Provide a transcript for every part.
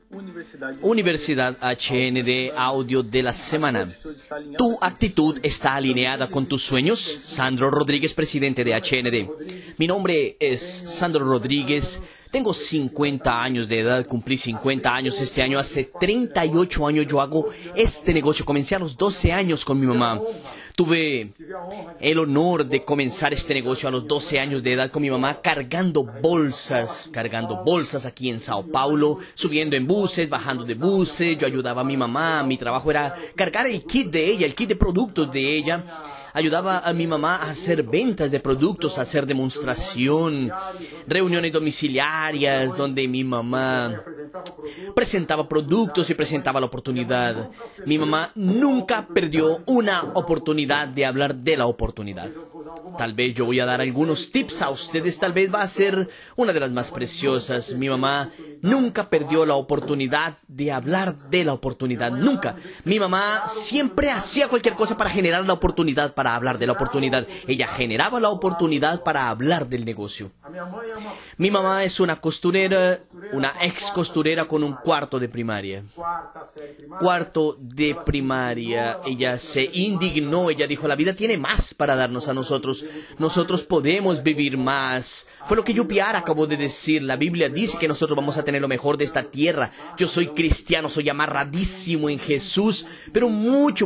Universidad HND Audio de la Semana. ¿Tu actitud está alineada con tus sueños? Sandro Rodríguez, presidente de HND. Mi nombre es Sandro Rodríguez. Tengo 50 años de edad, cumplí 50 años este año. Hace 38 años yo hago este negocio. Comencé a los 12 años con mi mamá. Tuve el honor de comenzar este negocio a los 12 años de edad con mi mamá, cargando bolsas aquí en Sao Paulo, subiendo en buses, bajando de buses. Yo ayudaba a mi mamá, mi trabajo era cargar el kit de ella, el kit de productos de ella. Ayudaba a mi mamá a hacer ventas de productos, a hacer demostración, reuniones domiciliarias donde mi mamá presentaba productos y presentaba la oportunidad. Mi mamá nunca perdió una oportunidad de hablar de la oportunidad. Tal vez yo voy a dar algunos tips a ustedes, tal vez va a ser una de las más preciosas. Mi mamá nunca perdió la oportunidad de hablar de la oportunidad, nunca. Mi mamá siempre hacía cualquier cosa para generar la oportunidad, para hablar de la oportunidad. Ella generaba la oportunidad para hablar del negocio. Mi mamá es una costurera, una ex costurera con un cuarto de primaria. Cuarto de primaria. Ella se indignó, ella dijo, la vida tiene más para darnos a nosotros. Nosotros podemos vivir más. Fue lo que Yupiara acabó de decir. La Biblia dice que nosotros vamos a tener lo mejor de esta tierra. Yo soy cristiano, soy amarradísimo en Jesús, pero mucho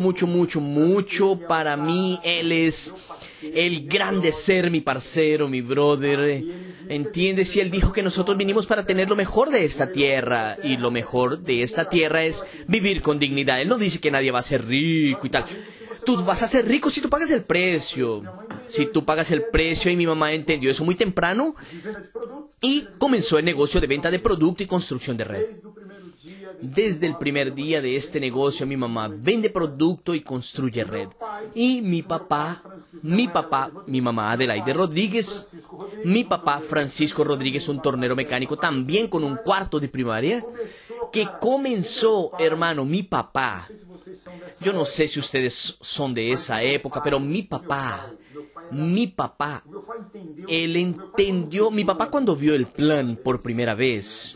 para mí Él es el grande ser, mi parcero, mi brother. ¿Entiendes? Y Él dijo que nosotros vinimos para tener lo mejor de esta tierra. Y lo mejor de esta tierra es vivir con dignidad. Él no dice que nadie va a ser rico y tal. Tú vas a ser rico si tú pagas el precio. Si tú pagas el precio, y mi mamá entendió eso muy temprano y comenzó el negocio de venta de producto y construcción de red. Desde el primer día de este negocio, mi mamá vende producto y construye red. Y mi mamá Adelaide Rodríguez, mi papá Francisco Rodríguez, un tornero mecánico también con un cuarto de primaria, que comenzó, hermano, mi papá. Yo no sé si ustedes son de esa época, pero mi papá, él entendió, mi papá cuando vio el plan por primera vez,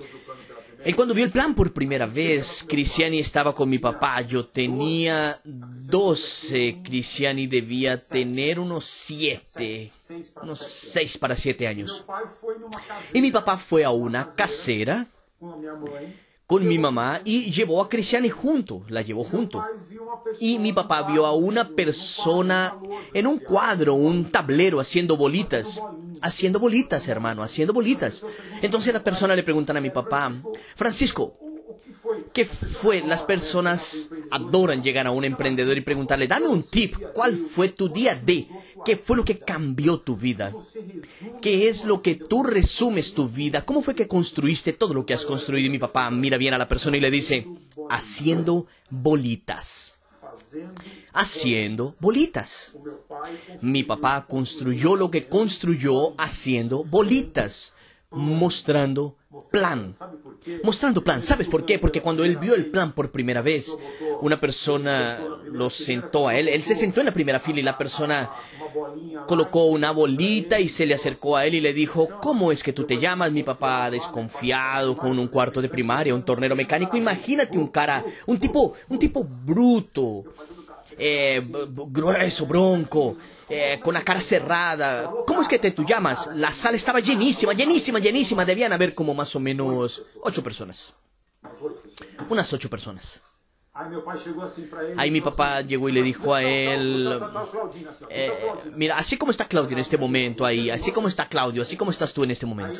Cristiani estaba con mi papá, yo tenía 12, Cristiani debía tener unos 6 para 7 años. Y mi papá fue a una casera con mi mamá y llevó a Cristiani la llevó junto. Y mi papá vio a una persona en un cuadro, un tablero, haciendo bolitas, hermano, haciendo bolitas. Entonces la persona le preguntan a mi papá, Francisco, ¿qué fue? Las personas adoran llegar a un emprendedor y preguntarle, dame un tip, ¿cuál fue tu día D? ¿Qué fue lo que cambió tu vida? ¿Qué es lo que tú resumes tu vida? ¿Cómo fue que construiste todo lo que has construido? Y mi papá mira bien a la persona y le dice, haciendo bolitas. Haciendo bolitas. Mi papá construyó lo que construyó haciendo bolitas, mostrando plan. ¿Sabes por qué? Porque cuando él vio el plan por primera vez, una persona lo sentó a él. Él se sentó en la primera fila y la persona colocó una bolita y se le acercó a él y le dijo, ¿cómo es que tú te llamas? Mi papá desconfiado, con un cuarto de primaria, un tornero mecánico. Imagínate un tipo bruto, grueso, bronco, con la cara cerrada. ¿Cómo es que tú llamas? La sala estaba llenísima. Debían haber como más o menos 8 personas. Unas 8 personas. Ahí mi papá llegó y le dijo a él, mira, así como está Claudio en este momento ahí, así como está Claudio, así como estás tú en este momento,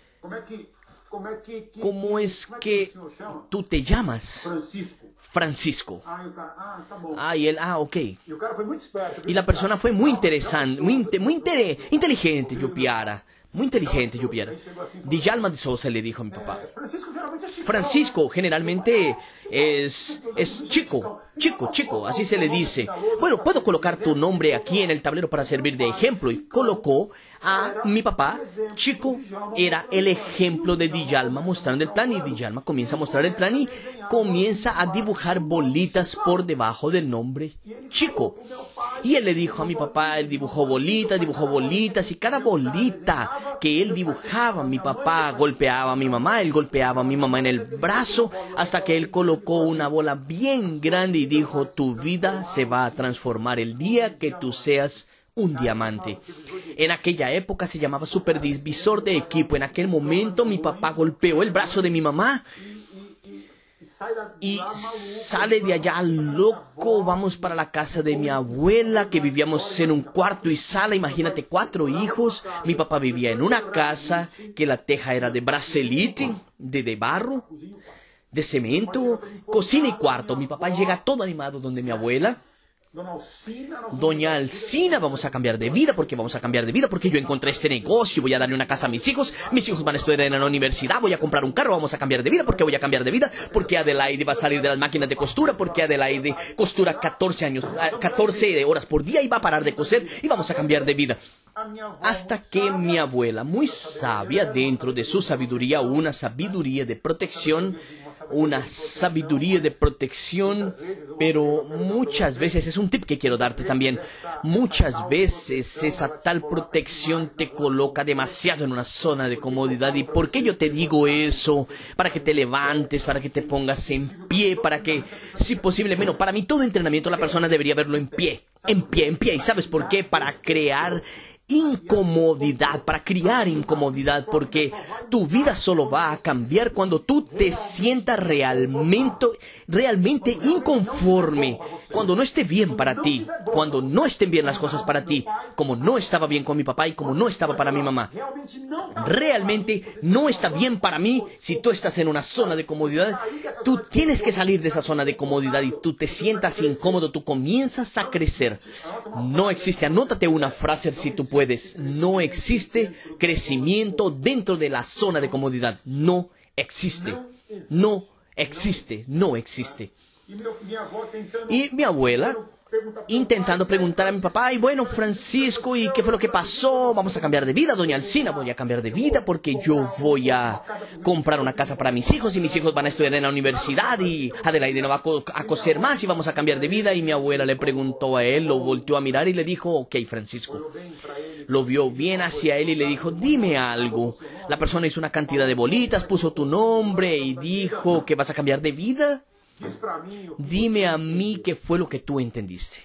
¿cómo es que tú te llamas? Francisco. Y él, ok. Y la persona fue muy interesante, muy inteligente, Yupiara. Muy inteligente, Yupiara. Djalma de Souza le dijo a mi papá. Francisco generalmente es chico. Chico, así se le dice. Bueno, puedo colocar tu nombre aquí en el tablero para servir de ejemplo. Y colocó a mi papá. Chico era el ejemplo de Djalma mostrando el plan. Y Djalma comienza a mostrar el plan y comienza a dibujar bolitas por debajo del nombre Chico. Y él le dijo a mi papá, él dibujó bolitas, y cada bolita que él dibujaba, mi papá golpeaba a mi mamá, él golpeaba a mi mamá en el brazo, hasta que él colocó una bola bien grande y dijo, tu vida se va a transformar el día que tú seas un diamante. En aquella época se llamaba supervisor de equipo. En aquel momento mi papá golpeó el brazo de mi mamá y sale de allá loco. Vamos para la casa de mi abuela, que vivíamos en un cuarto y sala. Imagínate, 4 hijos. Mi papá vivía en una casa que la teja era de bracelite, de barro, de cemento, cocina y cuarto. Mi papá llega todo animado donde mi abuela. Doña Alcina, vamos a cambiar de vida, porque yo encontré este negocio, voy a darle una casa a mis hijos van a estudiar en la universidad, voy a comprar un carro, vamos a cambiar de vida, porque Adelaide va a salir de las máquinas de costura, porque Adelaide costura 14 horas por día y va a parar de coser y vamos a cambiar de vida. Hasta que mi abuela, muy sabia dentro de su sabiduría, una sabiduría de protección, pero muchas veces, es un tip que quiero darte también, muchas veces esa tal protección te coloca demasiado en una zona de comodidad. ¿Y por qué yo te digo eso? Para que te levantes, para que te pongas en pie, para que, si posible, menos, para mí todo entrenamiento la persona debería verlo en pie. ¿Y sabes por qué? Para crear incomodidad, para criar incomodidad, porque tu vida solo va a cambiar cuando tú te sientas realmente inconforme, cuando no esté bien para ti, cuando no estén bien las cosas para ti, como no estaba bien con mi papá y como no estaba para mi mamá. Realmente no está bien para mí. Si tú estás en una zona de comodidad, tú tienes que salir de esa zona de comodidad y tú te sientas incómodo, tú comienzas a crecer. No existe, anótate una frase si tú puedes, no existe crecimiento dentro de la zona de comodidad. No existe. Y mi abuela intentando preguntar a mi papá, y bueno, Francisco, ¿y qué fue lo que pasó? Vamos a cambiar de vida, doña Alcina, voy a cambiar de vida porque yo voy a comprar una casa para mis hijos y mis hijos van a estudiar en la universidad y Adelaide no va a coser más y vamos a cambiar de vida. Y mi abuela le preguntó a él, lo volteó a mirar y le dijo, ok, Francisco. Lo vio bien hacia él y le dijo, dime algo. La persona hizo una cantidad de bolitas, puso tu nombre y dijo que vas a cambiar de vida. Dime a mí qué fue lo que tú entendiste.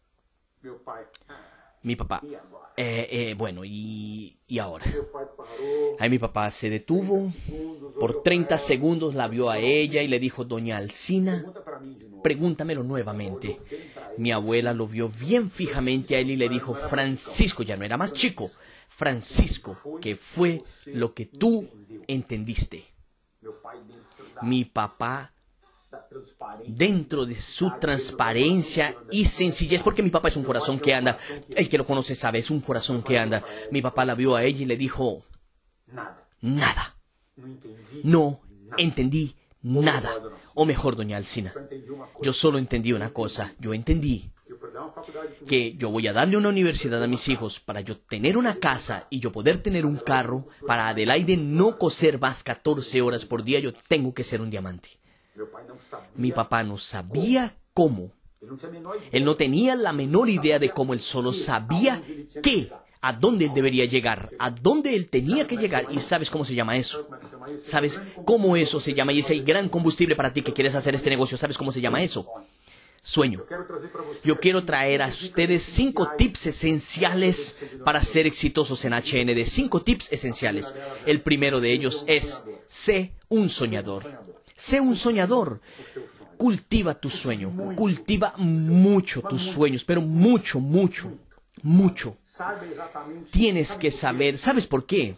Mi papá, bueno, ¿y ahora? Ahí mi papá se detuvo, por 30 segundos la vio a ella y le dijo, doña Alcina, pregúntamelo nuevamente. Mi abuela lo vio bien fijamente a él y le dijo, Francisco, ya no era más chico, Francisco, ¿qué fue lo que tú entendiste? Mi papá, dentro de su transparencia y sencillez, porque mi papá es un corazón que anda, el que lo conoce sabe, es un corazón que anda. Mi papá la vio a ella y le dijo, nada, no entendí nada. O mejor, doña Alcina, yo solo entendí una cosa, yo entendí que yo voy a darle una universidad a mis hijos para yo tener una casa y yo poder tener un carro, para Adelaide no coser más 14 horas por día, yo tengo que ser un diamante. Mi papá no sabía cómo. Él no tenía la menor idea de cómo, él solo sabía a dónde él debería llegar, a dónde él tenía que llegar. ¿Y sabes cómo se llama eso? ¿Sabes cómo eso se llama? Y es el gran combustible para ti que quieres hacer este negocio. ¿Sabes cómo se llama eso? Sueño. Yo quiero traer a ustedes 5 tips esenciales para ser exitosos en HND. 5 tips esenciales. El primero de ellos es, sé un soñador. Sé un soñador. Cultiva tu sueño. Cultiva mucho tus sueños, pero mucho, mucho, mucho. Tienes que saber. ¿Sabes por qué?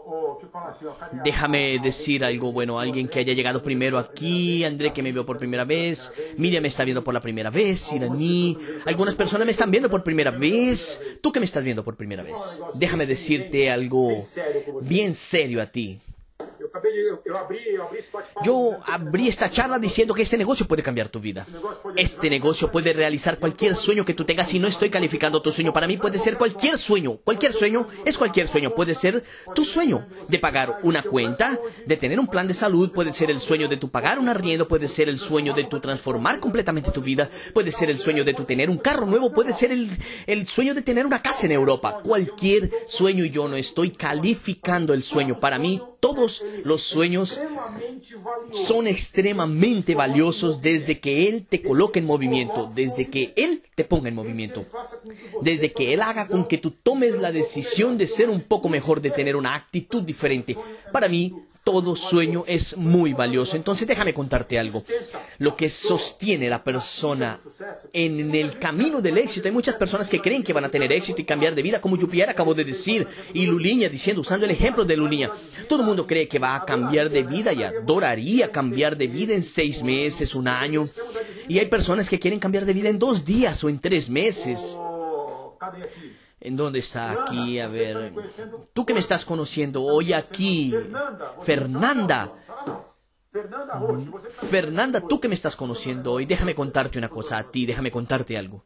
Déjame decir algo bueno. Alguien que haya llegado primero aquí, André que me vio por primera vez, Miriam me está viendo por la primera vez, Irani, algunas personas me están viendo por primera vez, tú que me estás viendo por primera vez. Déjame decirte algo bien serio a ti. Yo abrí esta charla diciendo que este negocio puede cambiar tu vida. Este negocio puede realizar cualquier sueño que tú tengas y no estoy calificando tu sueño. Para mí puede ser cualquier sueño. Cualquier sueño es cualquier sueño. Puede ser tu sueño de pagar una cuenta, de tener un plan de salud. Puede ser el sueño de tu pagar un arriendo. Puede ser el sueño de tu transformar completamente tu vida. Puede ser el sueño de tu tener un carro nuevo. Puede ser el sueño de tener una casa en Europa. Cualquier sueño, y yo no estoy calificando el sueño. Para mí, todos los sueños son extremadamente valiosos desde que Él te coloque en movimiento, desde que Él te ponga en movimiento, desde que Él haga con que tú tomes la decisión de ser un poco mejor, de tener una actitud diferente. Para mí, todo sueño es muy valioso. Entonces déjame contarte algo. Lo que sostiene a la persona en el camino del éxito. Hay muchas personas que creen que van a tener éxito y cambiar de vida, como Jupier acabó de decir, y Luliña diciendo, usando el ejemplo de Luliña. Todo el mundo cree que va a cambiar de vida y adoraría cambiar de vida en 6 meses, 1 año. Y hay personas que quieren cambiar de vida en 2 días o en 3 meses. ¿En dónde está aquí? A ver, tú que me estás conociendo hoy aquí, Fernanda, tú que me estás conociendo hoy, déjame contarte una cosa a ti, déjame contarte algo.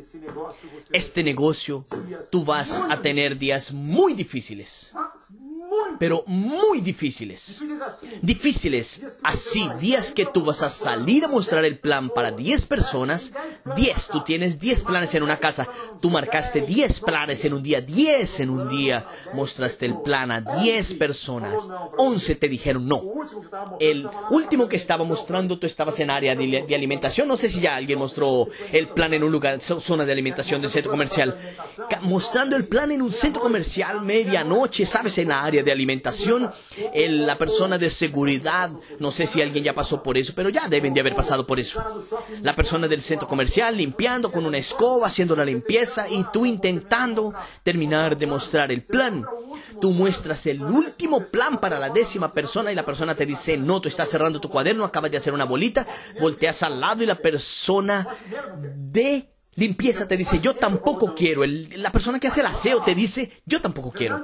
Este negocio, tú vas a tener días muy difíciles, pero muy difíciles. Difíciles así, días que tú vas a salir a mostrar el plan para 10 personas. 10, tú tienes 10 planes en una casa. Tú marcaste 10 planes en un día. 10 en un día. Mostraste el plan a 10 personas. 11 te dijeron no. El último que estaba mostrando, tú estabas en área de alimentación. No sé si ya alguien mostró el plan en un lugar, zona de alimentación del centro comercial. Mostrando el plan en un centro comercial, medianoche, ¿sabes? En la área de alimentación, la persona de seguridad, no sé si alguien ya pasó por eso, pero ya deben de haber pasado por eso. La persona del centro comercial limpiando con una escoba, haciendo la limpieza, y tú intentando terminar de mostrar el plan. Tú muestras el último plan para la 10ª persona y la persona te dice, no, tú estás cerrando tu cuaderno, acabas de hacer una bolita, volteas al lado y la persona de limpieza te dice, yo tampoco quiero. La persona que hace el aseo te dice, yo tampoco quiero.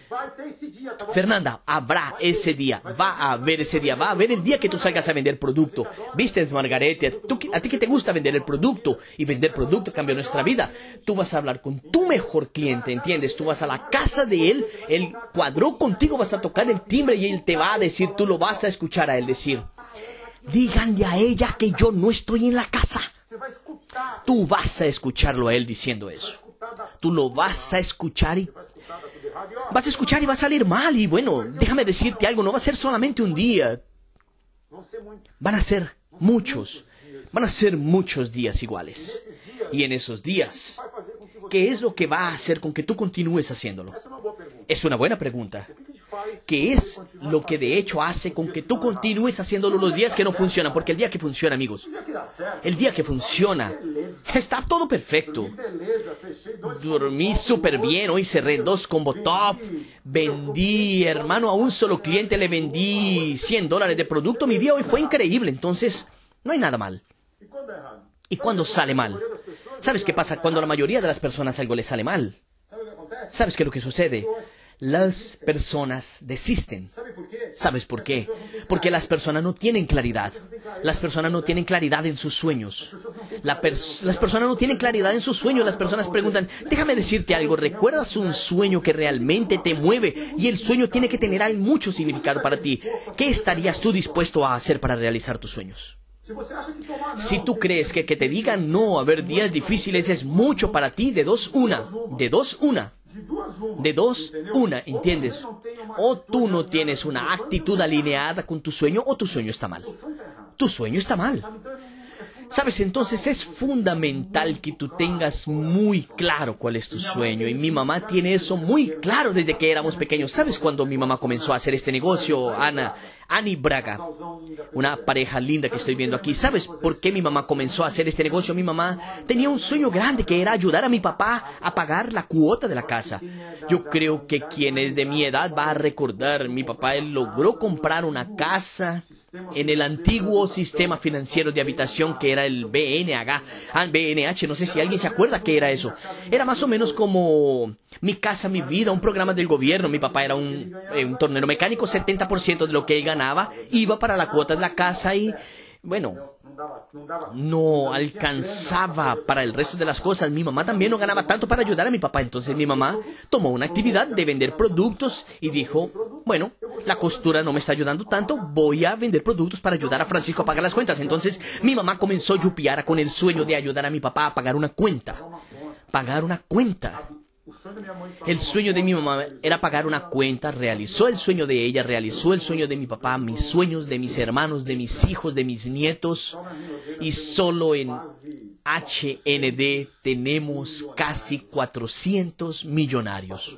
Fernanda, habrá ese día, va a haber ese día, va a haber el día que tú salgas a vender producto. ¿Viste, Margarete? A ti que te gusta vender el producto, y vender producto cambia nuestra vida. Tú vas a hablar con tu mejor cliente, ¿entiendes? Tú vas a la casa de él cuadró contigo, vas a tocar el timbre y él te va a decir, tú lo vas a escuchar a él decir, díganle a ella que yo no estoy en la casa. Tú vas a escucharlo a él diciendo eso. Tú lo vas a escuchar y va a salir mal. Y bueno, déjame decirte algo, no va a ser solamente un día. Van a ser muchos días iguales. Y en esos días, ¿qué es lo que va a hacer con que tú continúes haciéndolo? Es una buena pregunta. ¿Qué es lo que de hecho hace con que tú continúes haciéndolo los días que no funcionan? Porque el día que funciona, amigos, el día que funciona, está todo perfecto. Dormí súper bien, hoy cerré 2 combo top, vendí, hermano, a un solo cliente le vendí $100 de producto. Mi día hoy fue increíble, entonces no hay nada mal. ¿Y cuando sale mal? ¿Sabes qué pasa cuando a la mayoría de las personas algo les sale mal? ¿Sabes qué es lo que sucede? Las personas desisten. ¿Sabes por qué? Porque las personas no tienen claridad. Las personas no tienen claridad en sus sueños. Las personas no tienen claridad en sus sueños. Las personas preguntan, déjame decirte algo, ¿recuerdas un sueño que realmente te mueve? Y el sueño tiene que tener mucho significado para ti. ¿Qué estarías tú dispuesto a hacer para realizar tus sueños? Si tú crees que te digan no, a ver, días difíciles es mucho para ti, de 2, 1. De 2, 1. De 2, 1, ¿entiendes? O tú no tienes una actitud alineada con tu sueño, o tu sueño está mal. Tu sueño está mal. ¿Sabes? Entonces es fundamental que tú tengas muy claro cuál es tu sueño. Y mi mamá tiene eso muy claro desde que éramos pequeños. ¿Sabes cuándo mi mamá comenzó a hacer este negocio? Ani Braga, una pareja linda que estoy viendo aquí. ¿Sabes por qué mi mamá comenzó a hacer este negocio? Mi mamá tenía un sueño grande que era ayudar a mi papá a pagar la cuota de la casa. Yo creo que quien es de mi edad va a recordar, mi papá él logró comprar una casa en el antiguo sistema financiero de habitación que era era el BNH, no sé si alguien se acuerda qué era eso. Era más o menos como Mi Casa, Mi Vida, un programa del gobierno. Mi papá era un tornero mecánico, 70% de lo que él ganaba iba para la cuota de la casa y, bueno, no alcanzaba para el resto de las cosas. Mi mamá también no ganaba tanto para ayudar a mi papá. Entonces mi mamá tomó una actividad de vender productos y dijo, bueno, la costura no me está ayudando tanto, voy a vender productos para ayudar a Francisco a pagar las cuentas. Entonces mi mamá comenzó a yupiar con el sueño de ayudar a mi papá a pagar una cuenta. Pagar una cuenta. El sueño de mi mamá era pagar una cuenta, realizó el sueño de ella, realizó el sueño de mi papá, mis sueños de mis hermanos, de mis hijos, de mis nietos. Y solo en HND tenemos casi 400 millonarios.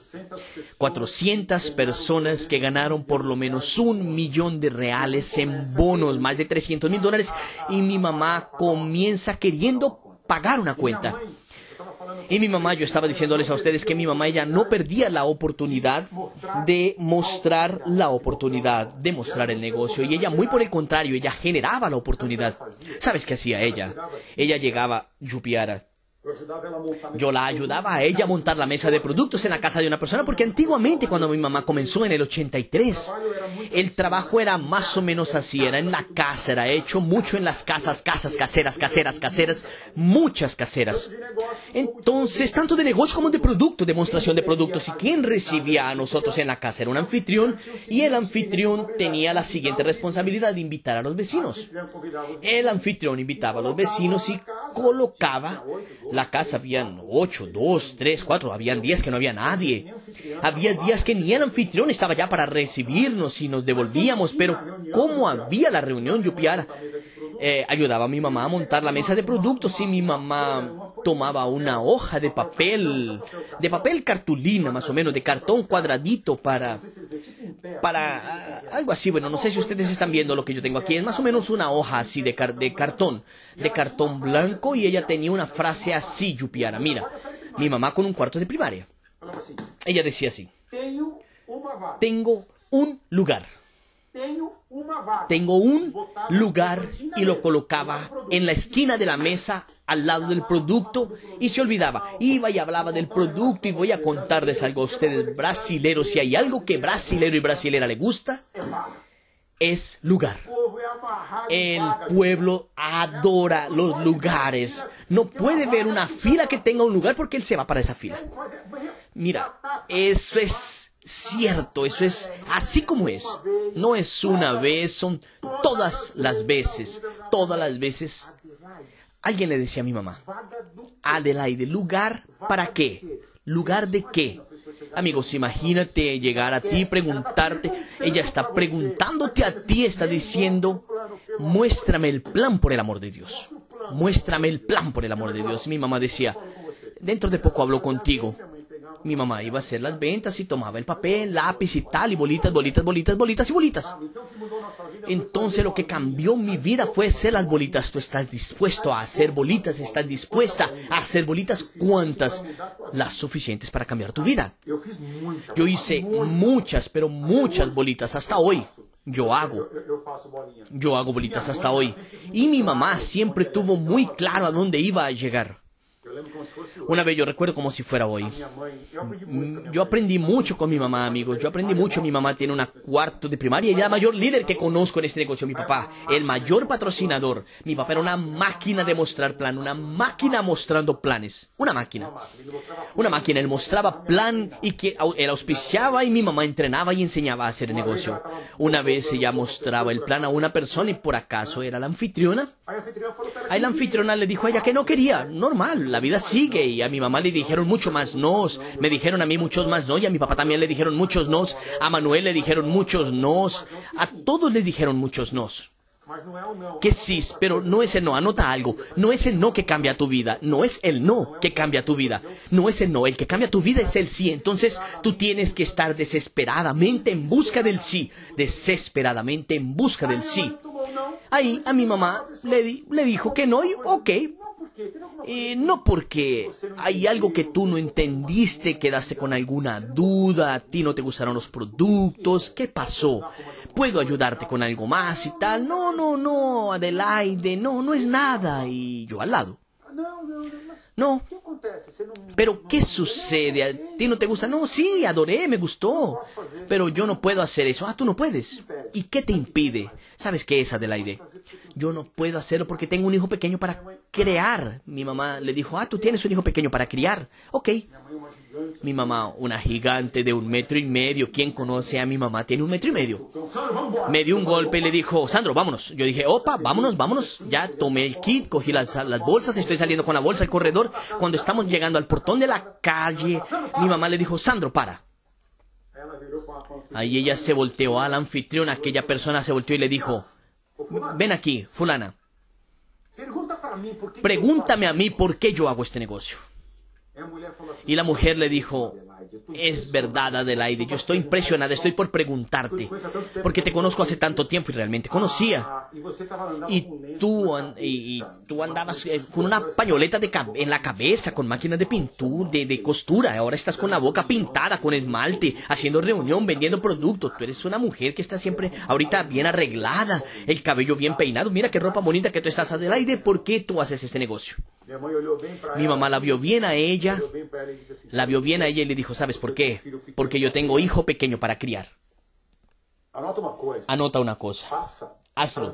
400 personas que ganaron por lo menos $1 millón en bonos, más de $300,000. Y mi mamá comienza queriendo pagar una cuenta. Y mi mamá, yo estaba diciéndoles a ustedes que mi mamá, ella no perdía la oportunidad de mostrar la oportunidad, de mostrar el negocio. Y ella, muy por el contrario, ella generaba la oportunidad. ¿Sabes qué hacía ella? Ella llegaba, yupiara. Yo la ayudaba a ella a montar la mesa de productos en la casa de una persona, porque antiguamente, cuando mi mamá comenzó en el 83, el trabajo era más o menos así, era en la casa, era hecho mucho en las casas caseras, muchas caseras. Entonces, tanto de negocio como de producto, demostración de productos. ¿Y quién recibía a nosotros en la casa? Era un anfitrión, y el anfitrión tenía la siguiente responsabilidad de invitar a los vecinos. El anfitrión invitaba a los vecinos y colocaba la casa. Habían 8, 2, 3, 4, habían días que no había nadie. Había días que ni el anfitrión estaba ya para recibirnos y nos devolvíamos, pero como había la reunión, yupiara, ayudaba a mi mamá a montar la mesa de productos y mi mamá tomaba una hoja de papel cartulina, más o menos, de cartón cuadradito para algo así. Bueno, no sé si ustedes están viendo lo que yo tengo aquí. Es más o menos una hoja así de cartón blanco, y ella tenía una frase así, yupiara. Mira, mi mamá con un cuarto de primaria. Ella decía así: tengo un lugar. Tengo un lugar, y lo colocaba en la esquina de la mesa al lado del producto y se olvidaba. Iba y hablaba del producto, y voy a contarles algo a ustedes brasileros. Si hay algo que brasilero y brasilera le gusta, es lugar. El pueblo adora los lugares. No puede ver una fila que tenga un lugar porque él se va para esa fila. Mira, eso es cierto, eso es así como es. No es una vez, son todas las veces. Todas las veces. Alguien le decía a mi mamá: Adelaide, ¿lugar para qué? ¿Lugar de qué? Amigos, imagínate llegar a ti y preguntarte. Ella está preguntándote a ti, está diciendo: muéstrame el plan, por el amor de Dios. Muéstrame el plan, por el amor de Dios. Y mi mamá decía: dentro de poco hablo contigo. Mi mamá iba a hacer las ventas y tomaba el papel, lápiz y tal, y bolitas y bolitas. Entonces lo que cambió mi vida fue hacer las bolitas. ¿Tú estás dispuesto a hacer bolitas? ¿Estás dispuesta a hacer bolitas? ¿Cuántas? Las suficientes para cambiar tu vida. Yo hice muchas, pero muchas bolitas hasta hoy. Yo hago bolitas hasta hoy. Y mi mamá siempre tuvo muy claro a dónde iba a llegar. Una vez, yo recuerdo como si fuera hoy, yo aprendí mucho con mi mamá, amigos. Yo aprendí mucho. Mi mamá tiene una cuarto de primaria y es la mayor líder que conozco en este negocio. Mi papá, el mayor patrocinador. Mi papá era una máquina de mostrar plan, una máquina mostrando planes. Una máquina. Él mostraba plan y que él auspiciaba, y mi mamá entrenaba y enseñaba a hacer el negocio. Una vez ella mostraba el plan a una persona y por acaso era la anfitriona. Ahí la anfitriona le dijo a ella que no quería. Normal, la vida sigue. Y a mi mamá le dijeron mucho más nos. Me dijeron a mí muchos más no. Y a mi papá también le dijeron muchos nos. A Manuel le dijeron muchos nos. A todos les dijeron muchos nos. Que sí, pero no es el no. Anota algo. No es el no que cambia tu vida. No es el no que cambia tu vida. No es el no. El que cambia tu vida es el sí. Entonces tú tienes que estar desesperadamente en busca del sí. Desesperadamente en busca del sí. Ahí a mi mamá le dijo que no, y ok. No porque hay algo que tú no entendiste, quedaste con alguna duda, a ti no te gustaron los productos. ¿Qué pasó? puedo ayudarte con algo más y tal. No, no, no, Adelaide, no, no es nada. Y yo al lado. No, pero ¿qué sucede? ¿A ti no te gusta? No, sí, adoré, me gustó. Pero yo no puedo hacer eso. Ah, tú no puedes. ¿Y qué te impide? ¿Sabes qué es, Adelaide? Yo no puedo hacerlo porque tengo un hijo pequeño para crear. Mi mamá le dijo, tú tienes un hijo pequeño para criar. Ok. Mi mamá, una gigante de 1,5 metros. ¿Quién conoce a mi mamá? Tiene 1,5 metros. Me dio un golpe y le dijo, Sandro, vámonos. Yo dije, opa, vámonos, vámonos. Ya tomé el kit, cogí las bolsas, estoy saliendo con la bolsa al corredor. Cuando estamos llegando al portón de la calle, mi mamá le dijo, Sandro, para. Ahí ella se volteó al anfitrión, aquella persona se volteó y le dijo, ven aquí, fulana. Pregúntame a mí por qué yo hago este negocio. Y la mujer le dijo, es verdad, Adelaide, yo estoy impresionada, estoy por preguntarte, porque te conozco hace tanto tiempo y realmente conocía. Y tú andabas con una pañoleta en la cabeza, con máquinas de pintura, de costura, ahora estás con la boca pintada, con esmalte, haciendo reunión, vendiendo productos. Tú eres una mujer que está siempre ahorita bien arreglada, el cabello bien peinado. Mira qué ropa bonita que tú estás, Adelaide, ¿por qué tú haces ese negocio? Mi mamá la vio bien a ella, y le dijo, ¿sabes por qué? Porque yo tengo hijo pequeño para criar. Anota una cosa. Hazlo.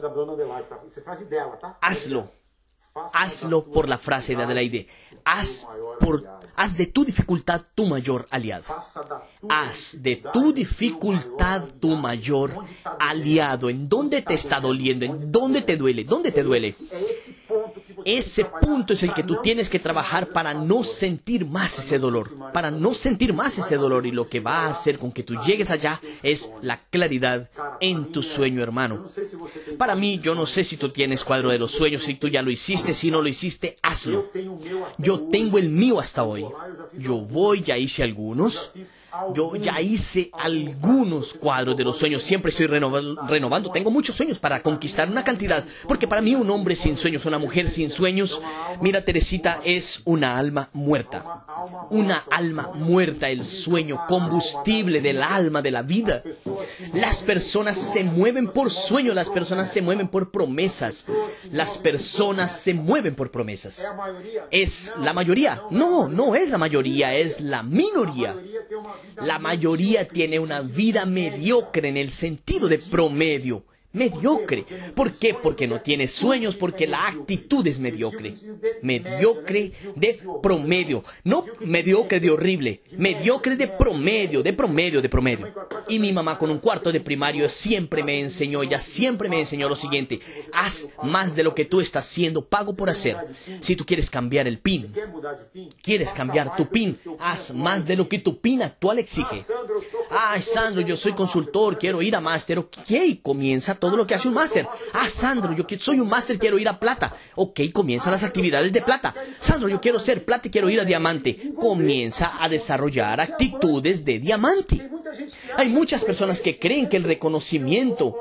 Hazlo. Hazlo por la frase de Adelaide. Haz de tu dificultad tu mayor aliado. Haz de tu dificultad tu mayor aliado. ¿En dónde te está doliendo? ¿En dónde te duele? ¿Dónde te duele? Ese punto es el que tú tienes que trabajar para no sentir más ese dolor. Para no sentir más ese dolor. Y lo que va a hacer con que tú llegues allá es la claridad en tu sueño, hermano. Para mí, yo no sé si tú tienes cuadro de los sueños, si tú ya lo hiciste, si no lo hiciste, hazlo. Yo tengo el mío hasta hoy. Ya hice algunos. Yo ya hice algunos cuadros de los sueños. Siempre estoy renovando. Tengo muchos sueños para conquistar una cantidad. Porque para mí un hombre sin sueños, una mujer sin sueños, mira, Teresita, es una alma muerta. Una alma muerta, el sueño, combustible del alma, de la vida. Las personas se mueven por sueños, las personas se mueven por promesas. Las personas se mueven por promesas. ¿Es la mayoría? No, no es la mayoría, es la minoría. La mayoría tiene una vida mediocre en el sentido de promedio. Mediocre. ¿Por qué? Porque no tiene sueños, porque la actitud es mediocre. Mediocre de promedio. No mediocre de horrible. Mediocre de promedio, de promedio, de promedio. Y mi mamá con un cuarto de primario siempre me enseñó, ella siempre me enseñó lo siguiente. Haz más de lo que tú estás haciendo, pago por hacer. Si tú quieres cambiar el PIN, quieres cambiar tu PIN, haz más de lo que tu PIN actual exige. Ay, Sandro, yo soy consultor, quiero ir a máster. Ok, comienza todo lo que hace un máster. Ah, Sandro, yo soy un máster, quiero ir a plata. Ok, comienza las actividades de plata. Sandro, yo quiero ser plata y quiero ir a diamante. Comienza a desarrollar actitudes de diamante. Hay muchas personas que creen que el reconocimiento,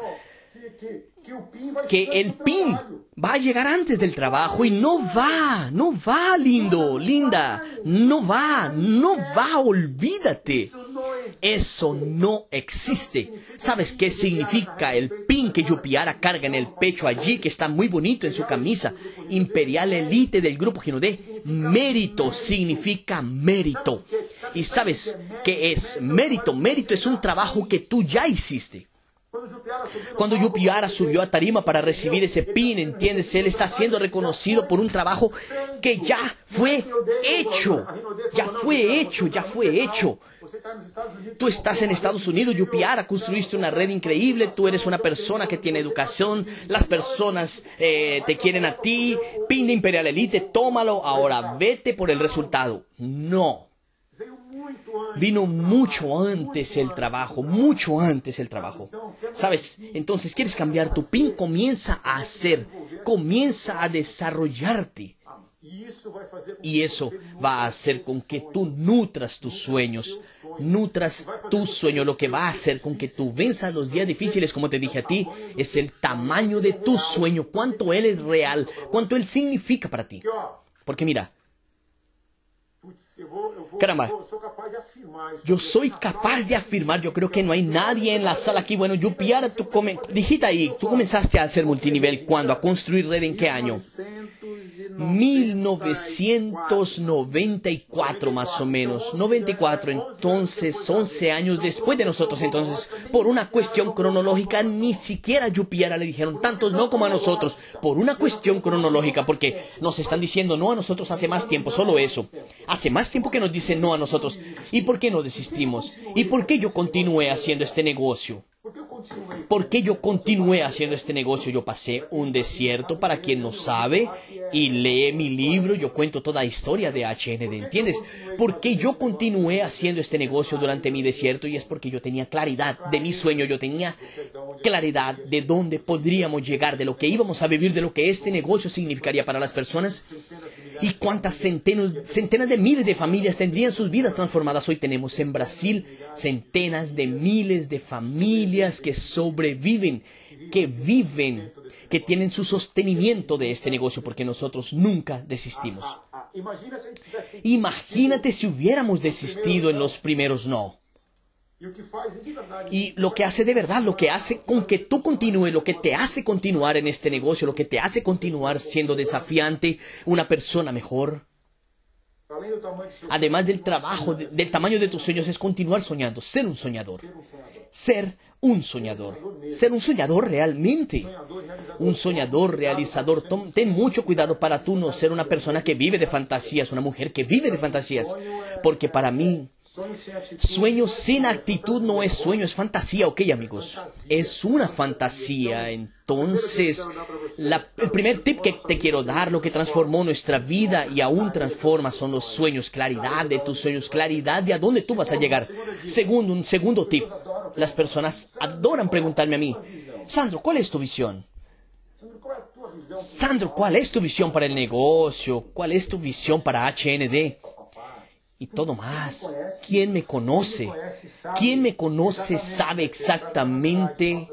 que el PIN va a llegar antes del trabajo y no va, lindo, linda, no va, olvídate. Eso no existe. ¿Sabes qué significa el pin que Yupiara carga en el pecho allí, que está muy bonito en su camisa? Imperial Elite del grupo Ginodé. Mérito significa mérito. ¿Y sabes qué es mérito? Mérito es un trabajo que tú ya hiciste. Cuando Yupiara subió a tarima para recibir ese pin, ¿entiendes? Él está siendo reconocido por un trabajo que ya fue hecho. Ya fue hecho. Tú estás en Estados Unidos, Yupiara, construiste una red increíble, tú eres una persona que tiene educación, las personas te quieren a ti, pin de Imperial Elite, tómalo, ahora vete por el resultado. No. Vino mucho antes el trabajo, mucho antes el trabajo. ¿Sabes? Entonces, ¿quieres cambiar tu PIN? Comienza a hacer, comienza a desarrollarte. Y eso va a hacer con que tú nutras tus sueños. Nutras tu sueño. Lo que va a hacer con que tú venzas los días difíciles, como te dije a ti, es el tamaño de tu sueño. Cuánto él es real, cuánto él significa para ti. Porque mira, Caramba, yo soy capaz de afirmar, yo creo que no hay nadie en la sala aquí. Bueno, Yupiara, dijiste ahí, tú comenzaste a hacer multinivel, ¿cuándo? ¿A construir red en qué año? 1994 más o menos, 94, entonces 11 años después de nosotros. Entonces, por una cuestión cronológica, ni siquiera a Yupiara le dijeron tantos no como a nosotros, por una cuestión cronológica, porque nos están diciendo no a nosotros hace más tiempo, solo eso. Hace más tiempo que nos dicen no a nosotros. ¿Y por qué no desistimos? ¿Y por qué yo continué haciendo este negocio? ¿Por qué yo continué haciendo este negocio? Yo pasé un desierto, para quien no sabe, y lee mi libro, yo cuento toda la historia de HND, ¿entiendes? ¿Por qué yo continué haciendo este negocio durante mi desierto? Y es porque yo tenía claridad de mi sueño, yo tenía claridad de dónde podríamos llegar, de lo que íbamos a vivir, de lo que este negocio significaría para las personas. Y cuántas centenas de miles de familias tendrían sus vidas transformadas. Hoy tenemos en Brasil centenas de miles de familias que sobreviven, que viven, que tienen su sostenimiento de este negocio, porque nosotros nunca desistimos. Imagínate si hubiéramos desistido en los primeros no. Y lo que hace de verdad, lo que hace con que tú continúes, lo que te hace continuar en este negocio, lo que te hace continuar siendo desafiante, una persona mejor, además del trabajo, del tamaño de tus sueños, es continuar soñando, ser un soñador. Ser un soñador. Ser un soñador realmente. Un soñador realizador. Ten mucho cuidado para tú no ser una persona que vive de fantasías, una mujer que vive de fantasías. Porque para mí, sueño sin actitud no es sueño, es fantasía, ¿ok, amigos? Es una fantasía. Entonces, el primer tip que te quiero dar, lo que transformó nuestra vida y aún transforma, son los sueños, claridad de tus sueños, claridad de a dónde tú vas a llegar. Un segundo tip, las personas adoran preguntarme a mí, Sandro, ¿cuál es tu visión? Sandro, ¿cuál es tu visión para el negocio? ¿Cuál es tu visión para HND? Y todo más. ¿Quién me conoce? ¿Quién me conoce sabe exactamente?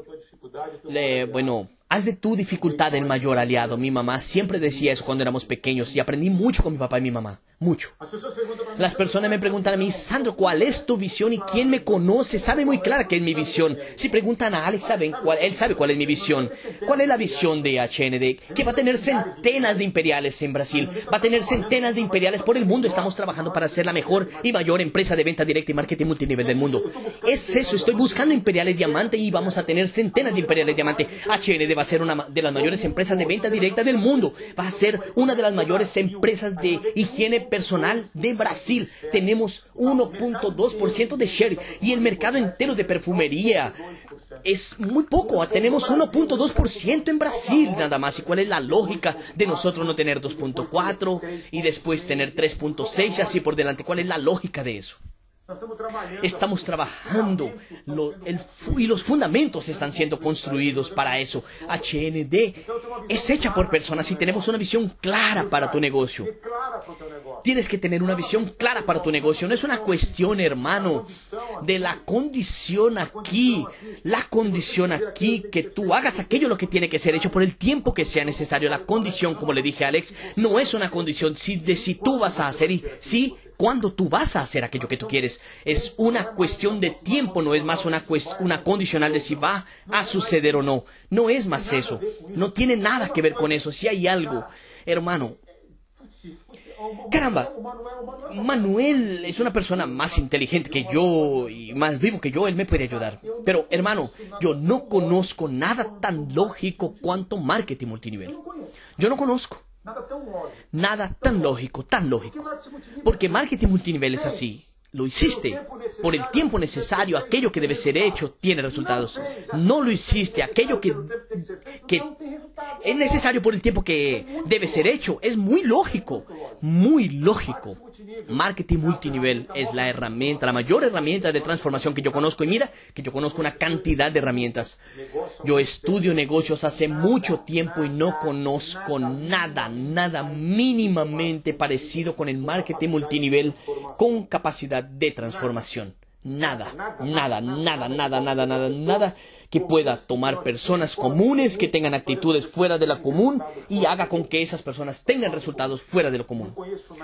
Haz de tu dificultad el mayor aliado. Mi mamá siempre decía eso cuando éramos pequeños y aprendí mucho con mi papá y mi mamá. Mucho. Las personas me preguntan a mí, Sandro, ¿cuál es tu visión? Y quien me conoce sabe muy clara qué es mi visión. Si preguntan a Alex, él sabe cuál es mi visión. ¿Cuál es la visión de HND? Que va a tener centenas de imperiales en Brasil. Va a tener centenas de imperiales por el mundo. Estamos trabajando para ser la mejor y mayor empresa de venta directa y marketing multinivel del mundo. Es eso, estoy buscando imperiales diamante y vamos a tener centenas de imperiales diamante. HND va a ser una de las mayores empresas de venta directa del mundo. Va a ser una de las mayores empresas de higiene personal de Brasil. Tenemos 1.2% de share y el mercado entero de perfumería es muy poco. Tenemos 1.2% en Brasil nada más. ¿Y cuál es la lógica de nosotros no tener 2.4 y después tener 3.6 y así por delante? ¿Cuál es la lógica de eso? Estamos trabajando y los fundamentos están siendo construidos para eso. HND es hecha por personas y tenemos una visión clara para tu negocio. Tienes que tener una visión clara para tu negocio. No es una cuestión, hermano, de la condición aquí. La condición aquí, que tú hagas aquello lo que tiene que ser hecho por el tiempo que sea necesario. La condición, como le dije a Alex, no es una condición de si tú vas a hacer y sí, cuando tú vas a hacer aquello que tú quieres. Es una cuestión de tiempo, no es más una condicional de si va a suceder o no. No es más eso. No tiene nada que ver con eso. Si hay algo, hermano. Caramba, Manuel es una persona más inteligente que yo y más vivo que yo, él me puede ayudar. Pero, hermano, yo no conozco nada tan lógico cuanto marketing multinivel. Yo no conozco nada tan lógico, Porque marketing multinivel es así. Lo hiciste por el tiempo necesario, aquello que debe ser hecho tiene resultados. No lo hiciste, aquello que es necesario por el tiempo que debe ser hecho. Es muy lógico, muy lógico. Marketing multinivel es la herramienta, la mayor herramienta de transformación que yo conozco. Y mira que yo conozco una cantidad de herramientas. Yo estudio negocios hace mucho tiempo y no conozco nada mínimamente parecido con el marketing multinivel con capacidad de transformación. Nada que pueda tomar personas comunes que tengan actitudes fuera de la común y haga con que esas personas tengan resultados fuera de lo común.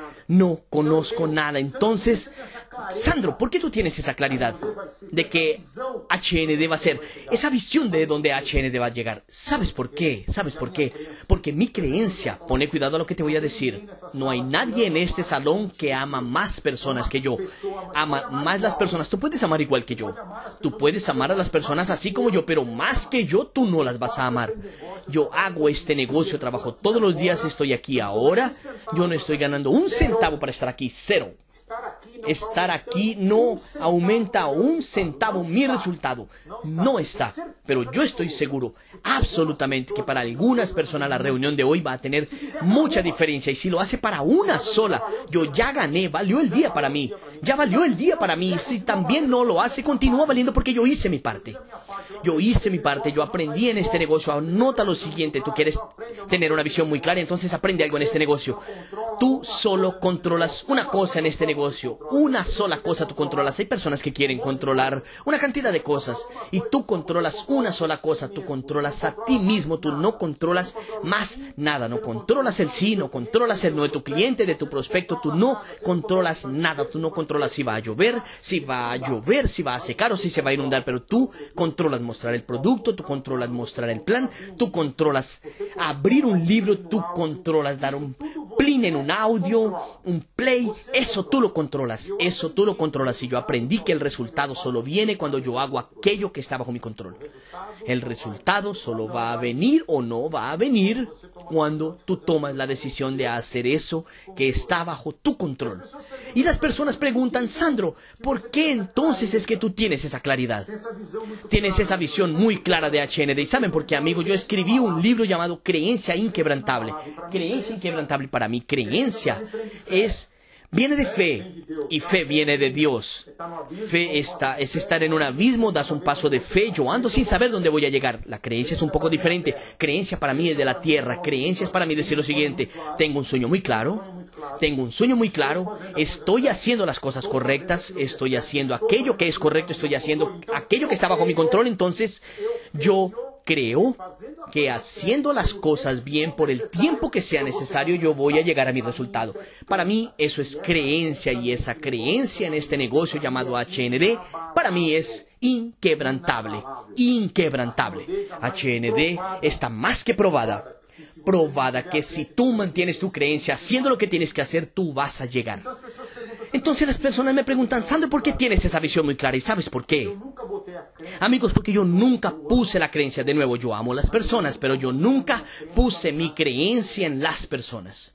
No conozco nada. Entonces, Sandro, ¿por qué tú tienes esa claridad de que HND va a ser esa visión de donde HND va a llegar? ¿Sabes por qué? ¿Sabes por qué? Porque mi creencia, pone cuidado a lo que te voy a decir, no hay nadie en este salón que ama más personas que yo. Ama más las personas. Tú puedes amar igual que yo. Tú puedes amar a las personas así como yo, pero más que yo, tú no las vas a amar. Yo hago este negocio, trabajo todos los días, estoy aquí ahora. Yo no estoy ganando un centavo para estar aquí, cero. Estar aquí no aumenta un centavo mi resultado. No está. Pero yo estoy seguro, absolutamente, que para algunas personas la reunión de hoy va a tener mucha diferencia. Y si lo hace para una sola, yo ya gané, valió el día para mí. Ya valió el día para mí. Si también no lo hace, continúa valiendo porque yo hice mi parte. Yo hice mi parte, yo aprendí en este negocio. Anota lo siguiente, tú quieres tener una visión muy clara, entonces aprende algo en este negocio. Tú solo controlas una cosa en este negocio. Una sola cosa tú controlas. Hay personas que quieren controlar una cantidad de cosas. Y tú controlas una sola cosa. Tú controlas a ti mismo. Tú no controlas más nada. No controlas el sí, no controlas el no de tu cliente, de tu prospecto. Tú no controlas nada. Tú no controlas si va a llover, si va a secar o si se va a inundar. Pero tú controlas mostrar el producto. Tú controlas mostrar el plan. Tú controlas abrir un libro. Tú controlas dar un plin en un audio, un play, eso tú lo controlas, eso tú lo controlas. Y yo aprendí que el resultado solo viene cuando yo hago aquello que está bajo mi control. El resultado solo va a venir o no va a venir cuando tú tomas la decisión de hacer eso que está bajo tu control. Y las personas preguntan, Sandro, ¿por qué entonces es que tú tienes esa claridad? Tienes esa visión muy clara de HND. ¿Y saben por qué, amigo? Yo escribí un libro llamado Creencia Inquebrantable. Creencia Inquebrantable para mí, creencia viene de fe, y fe viene de Dios. Fe es estar en un abismo, das un paso de fe, yo ando sin saber dónde voy a llegar. La creencia es un poco diferente. Creencia para mí es de la tierra. Creencia es para mí decir lo siguiente, tengo un sueño muy claro, estoy haciendo las cosas correctas, estoy haciendo aquello que es correcto, estoy haciendo aquello que está bajo mi control, entonces yo creo que haciendo las cosas bien por el tiempo que sea necesario, yo voy a llegar a mi resultado. Para mí eso es creencia, y esa creencia en este negocio llamado HND, para mí es inquebrantable, inquebrantable. HND está más que probada que si tú mantienes tu creencia haciendo lo que tienes que hacer, tú vas a llegar. Entonces las personas me preguntan, Sandro, ¿por qué tienes esa visión muy clara? ¿Y sabes por qué? Amigos, porque yo nunca puse la creencia. De nuevo, yo amo a las personas, pero yo nunca puse mi creencia en las personas.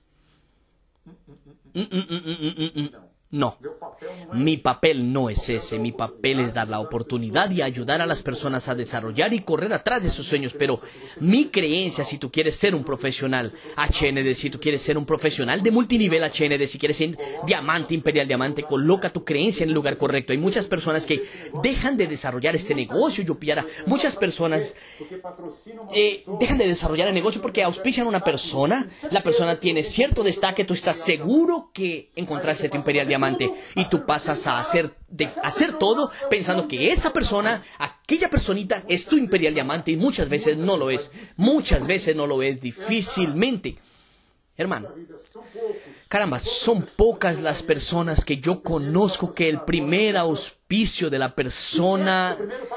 No, mi papel no es ese. Mi papel es dar la oportunidad y ayudar a las personas a desarrollar y correr atrás de sus sueños. Pero mi creencia, si tú quieres ser un profesional HND, si tú quieres ser un profesional de multinivel HND, si quieres ser diamante, imperial diamante, coloca tu creencia en el lugar correcto. Hay muchas personas que dejan de desarrollar este negocio. Muchas personas dejan de desarrollar el negocio porque auspician a una persona. La persona tiene cierto destaque. Tú estás seguro que encontraste tu imperial diamante. Y tú pasas a hacer todo pensando que esa persona, aquella personita, es tu imperial diamante, y muchas veces no lo es. Muchas veces no lo es, difícilmente. Hermano, caramba, son pocas las personas que yo conozco que el primer auspicio de la persona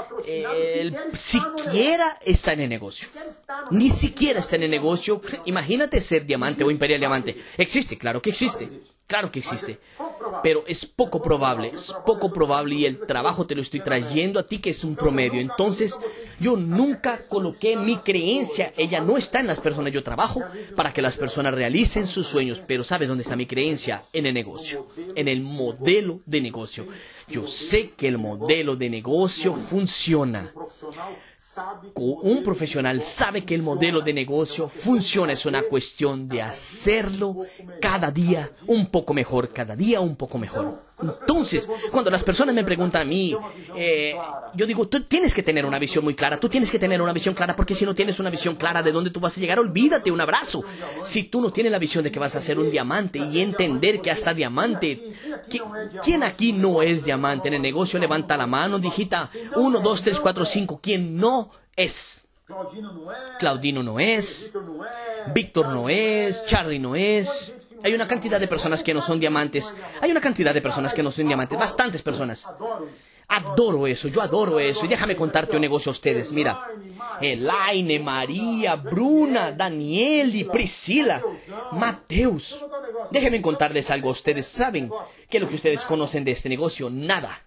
siquiera está en el negocio. Ni siquiera está en el negocio. Imagínate ser diamante o imperial diamante. Existe, claro que existe. Claro que existe, pero es poco probable, y el trabajo te lo estoy trayendo a ti, que es un promedio. Entonces, yo nunca coloqué mi creencia, ella no está en las personas. Yo trabajo para que las personas realicen sus sueños, pero ¿sabes dónde está mi creencia? En el negocio, en el modelo de negocio. Yo sé que el modelo de negocio funciona. Un profesional sabe que el modelo de negocio funciona. Es una cuestión de hacerlo cada día un poco mejor, cada día un poco mejor. Entonces, cuando las personas me preguntan a mí, yo digo, tú tienes que tener una visión muy clara, tú tienes que tener una visión clara, porque si no tienes una visión clara de dónde tú vas a llegar, olvídate, un abrazo. Si tú no tienes la visión de que vas a ser un diamante y entender que hasta diamante, ¿quién aquí no es diamante en el negocio? Levanta la mano, digita 1, 2, 3, 4, 5, ¿quién no es? Claudino no es, Víctor no es, Charlie no es. Hay una cantidad de personas que no son diamantes. Hay una cantidad de personas que no son diamantes. Bastantes personas. Adoro eso, yo adoro eso. Y déjame contarte un negocio a ustedes. Mira, Elaine, María, Bruna, Danieli, Priscila, Mateus. Déjenme contarles algo a ustedes. ¿Saben qué es lo que ustedes conocen de este negocio? Nada.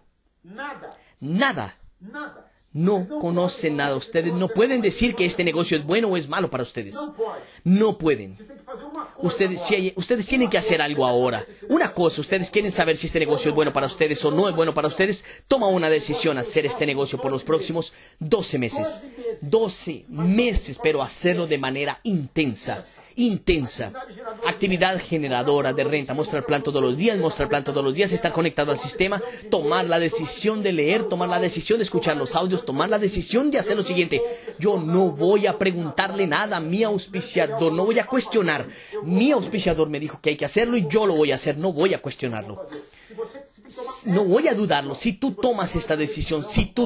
Nada. No conocen nada. Ustedes no pueden decir que este negocio es bueno o es malo para ustedes. No pueden. Ustedes tienen que hacer algo ahora. Una cosa, ustedes quieren saber si este negocio es bueno para ustedes o no es bueno para ustedes. Toma una decisión, hacer este negocio por los próximos 12 meses. 12 meses, pero hacerlo de manera intensa. Actividad generadora de renta, mostrar plan todos los días, estar conectado al sistema, tomar la decisión de leer, tomar la decisión de escuchar los audios, tomar la decisión de hacer lo siguiente. Yo no voy a preguntarle nada a mi auspiciador, no voy a cuestionar. Mi auspiciador me dijo que hay que hacerlo y yo lo voy a hacer, no voy a cuestionarlo. No voy a dudarlo. Si tú tomas esta decisión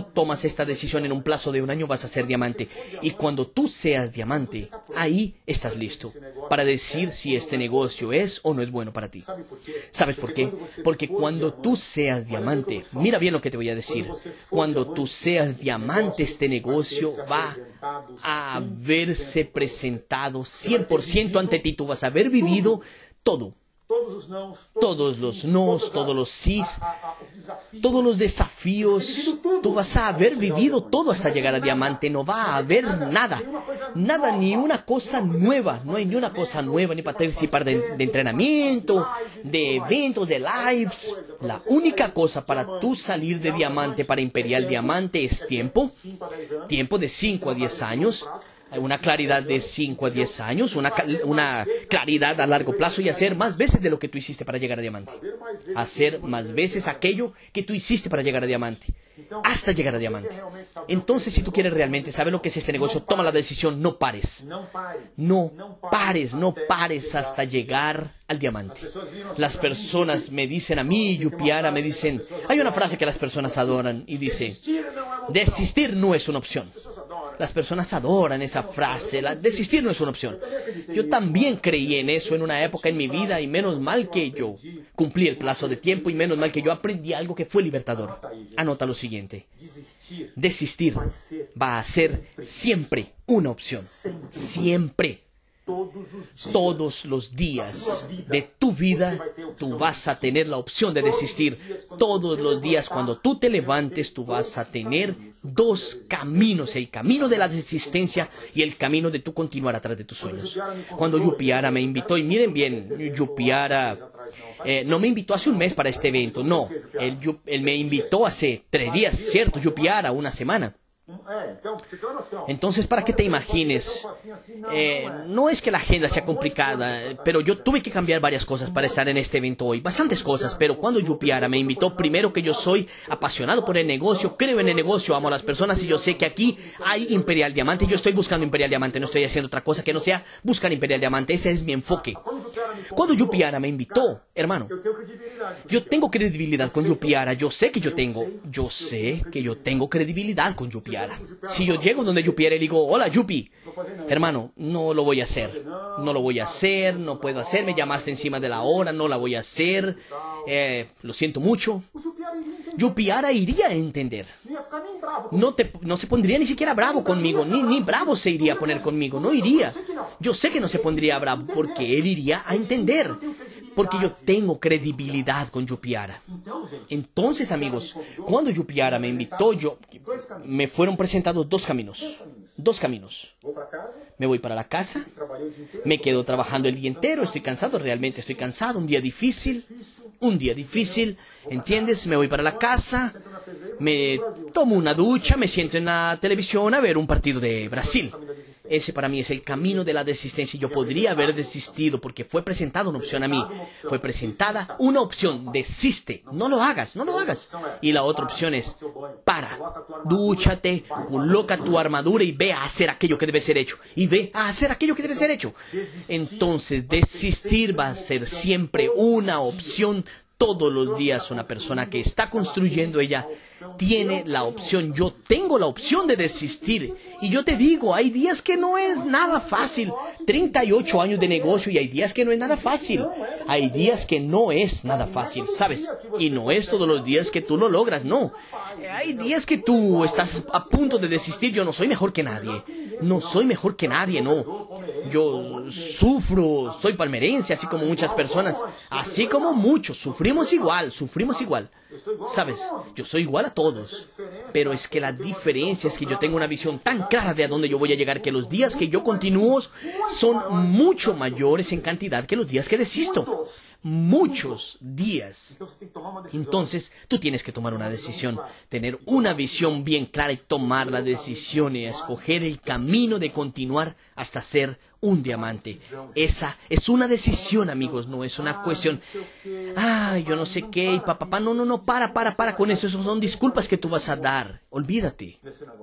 en un plazo de un año, vas a ser diamante. Y cuando tú seas diamante, ahí estás listo para decir si este negocio es o no es bueno para ti. ¿Sabes por qué? Porque cuando tú seas diamante, mira bien lo que te voy a decir. Cuando tú seas diamante, este negocio va a haberse presentado 100% ante ti. Tú vas a haber vivido todo. Todos los nos, todos los sís, todos los desafíos. Tú vas a haber vivido todo hasta llegar a diamante. No va a haber nada, ni una cosa nueva. No hay ni una cosa nueva, ni participar de entrenamiento, de eventos, de lives. La única cosa para tú salir de diamante para imperial diamante es tiempo de 5 a 10 años. Una claridad de 5 a 10 años, una claridad a largo plazo y hacer más veces de lo que tú hiciste para llegar a diamante. Hacer más veces aquello que tú hiciste para llegar a diamante, hasta llegar a diamante. Entonces, si tú quieres realmente saber lo que es este negocio, toma la decisión, no pares. No pares hasta llegar al diamante. Las personas me dicen a mí, Yupiara, me dicen, hay una frase que las personas adoran y dice, desistir no es una opción. Las personas adoran esa frase, desistir no es una opción. Yo también creí en eso en una época en mi vida y menos mal que yo cumplí el plazo de tiempo y menos mal que yo aprendí algo que fue libertador. Anota lo siguiente. Desistir va a ser siempre una opción. Siempre. Todos los días de tu vida tú vas a tener la opción de desistir. Todos los días cuando tú te levantes tú vas a tener dos caminos, el camino de la desistencia y el camino de tú continuar atrás de tus sueños. Cuando Yupiara me invitó, y miren bien, Yupiara no me invitó hace un mes para este evento, no, él me invitó hace 3 días, ¿cierto? Yupiara, una semana. Entonces, para que te imagines, no es que la agenda sea complicada, pero yo tuve que cambiar varias cosas para estar en este evento hoy, bastantes cosas, pero cuando Yupiara me invitó, primero que yo soy apasionado por el negocio, creo en el negocio, amo a las personas y yo sé que aquí hay Imperial Diamante, yo estoy buscando Imperial Diamante, no estoy haciendo otra cosa que no sea buscar Imperial Diamante, ese es mi enfoque. Cuando Yupiara me invitó, hermano, yo tengo credibilidad con Yupiara, yo sé que yo tengo credibilidad con Yupiara. Si yo llego donde Yupiara y digo, hola Yupi, hermano, no lo voy a hacer, no puedo hacer, me llamaste encima de la hora, no la voy a hacer, lo siento mucho. Yupiara iría a entender. No se pondría ni siquiera bravo conmigo, ni bravo se iría a poner conmigo, no iría. Yo sé que no se pondría bravo porque él iría a entender. Porque yo tengo credibilidad con Yupiara. Entonces, amigos, cuando Yupiara me invitó, me fueron presentados 2 caminos. 2 caminos. Me voy para la casa, me quedo trabajando el día entero, estoy cansado, realmente estoy cansado, un día difícil, ¿entiendes? Me voy para la casa, me tomo una ducha, me siento en la televisión a ver un partido de Brasil. Ese para mí es el camino de la desistencia. Yo podría haber desistido porque fue presentada una opción a mí. Fue presentada una opción. Desiste. No lo hagas, no lo hagas. Y la otra opción es, para, dúchate, coloca tu armadura y ve a hacer aquello que debe ser hecho. Y ve a hacer aquello que debe ser hecho. Entonces, desistir va a ser siempre una opción. Todos los días una persona que está construyendo, ella tiene la opción. Yo tengo la opción de desistir. Y yo te digo, hay días que no es nada fácil. 38 años de negocio y hay días que no es nada fácil. Hay días que no es nada fácil, ¿sabes? Y no es todos los días que tú lo logras, no. Hay días que tú estás a punto de desistir. Yo no soy mejor que nadie. No soy mejor que nadie, no. Yo sufro, soy palmerense, así como muchas personas. Así como muchos, sufrimos igual. ¿Sabes? Yo soy igual a todos. Pero es que la diferencia es que yo tengo una visión tan clara de a dónde yo voy a llegar que los días que yo continúo son mucho mayores en cantidad que los días que desisto. Muchos días. Entonces, tú tienes que tomar una decisión, tener una visión bien clara y tomar la decisión y escoger el camino de continuar hasta ser un diamante. Esa es una decisión, amigos, no es una cuestión. Ay, yo no sé qué, y papá, no, para con eso. Esas son disculpas que tú vas a dar. Olvídate.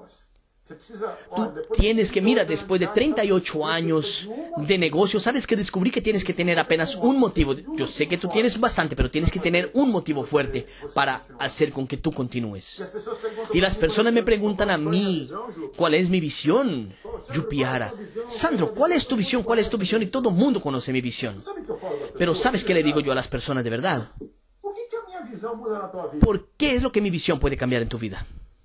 Tú tienes que, mira, después de 38 años de negocio, sabes que descubrí que tienes que tener apenas un motivo. Yo sé que tú tienes bastante, pero tienes que tener un motivo fuerte para hacer con que tú continúes. Y las personas me preguntan a mí, ¿cuál es mi visión? Yupiara, Sandro, ¿cuál es tu visión? ¿Cuál es tu visión? Y todo el mundo conoce mi visión. Pero ¿sabes qué le digo yo a las personas de verdad? ¿Por qué es lo que mi visión puede cambiar en tu vida?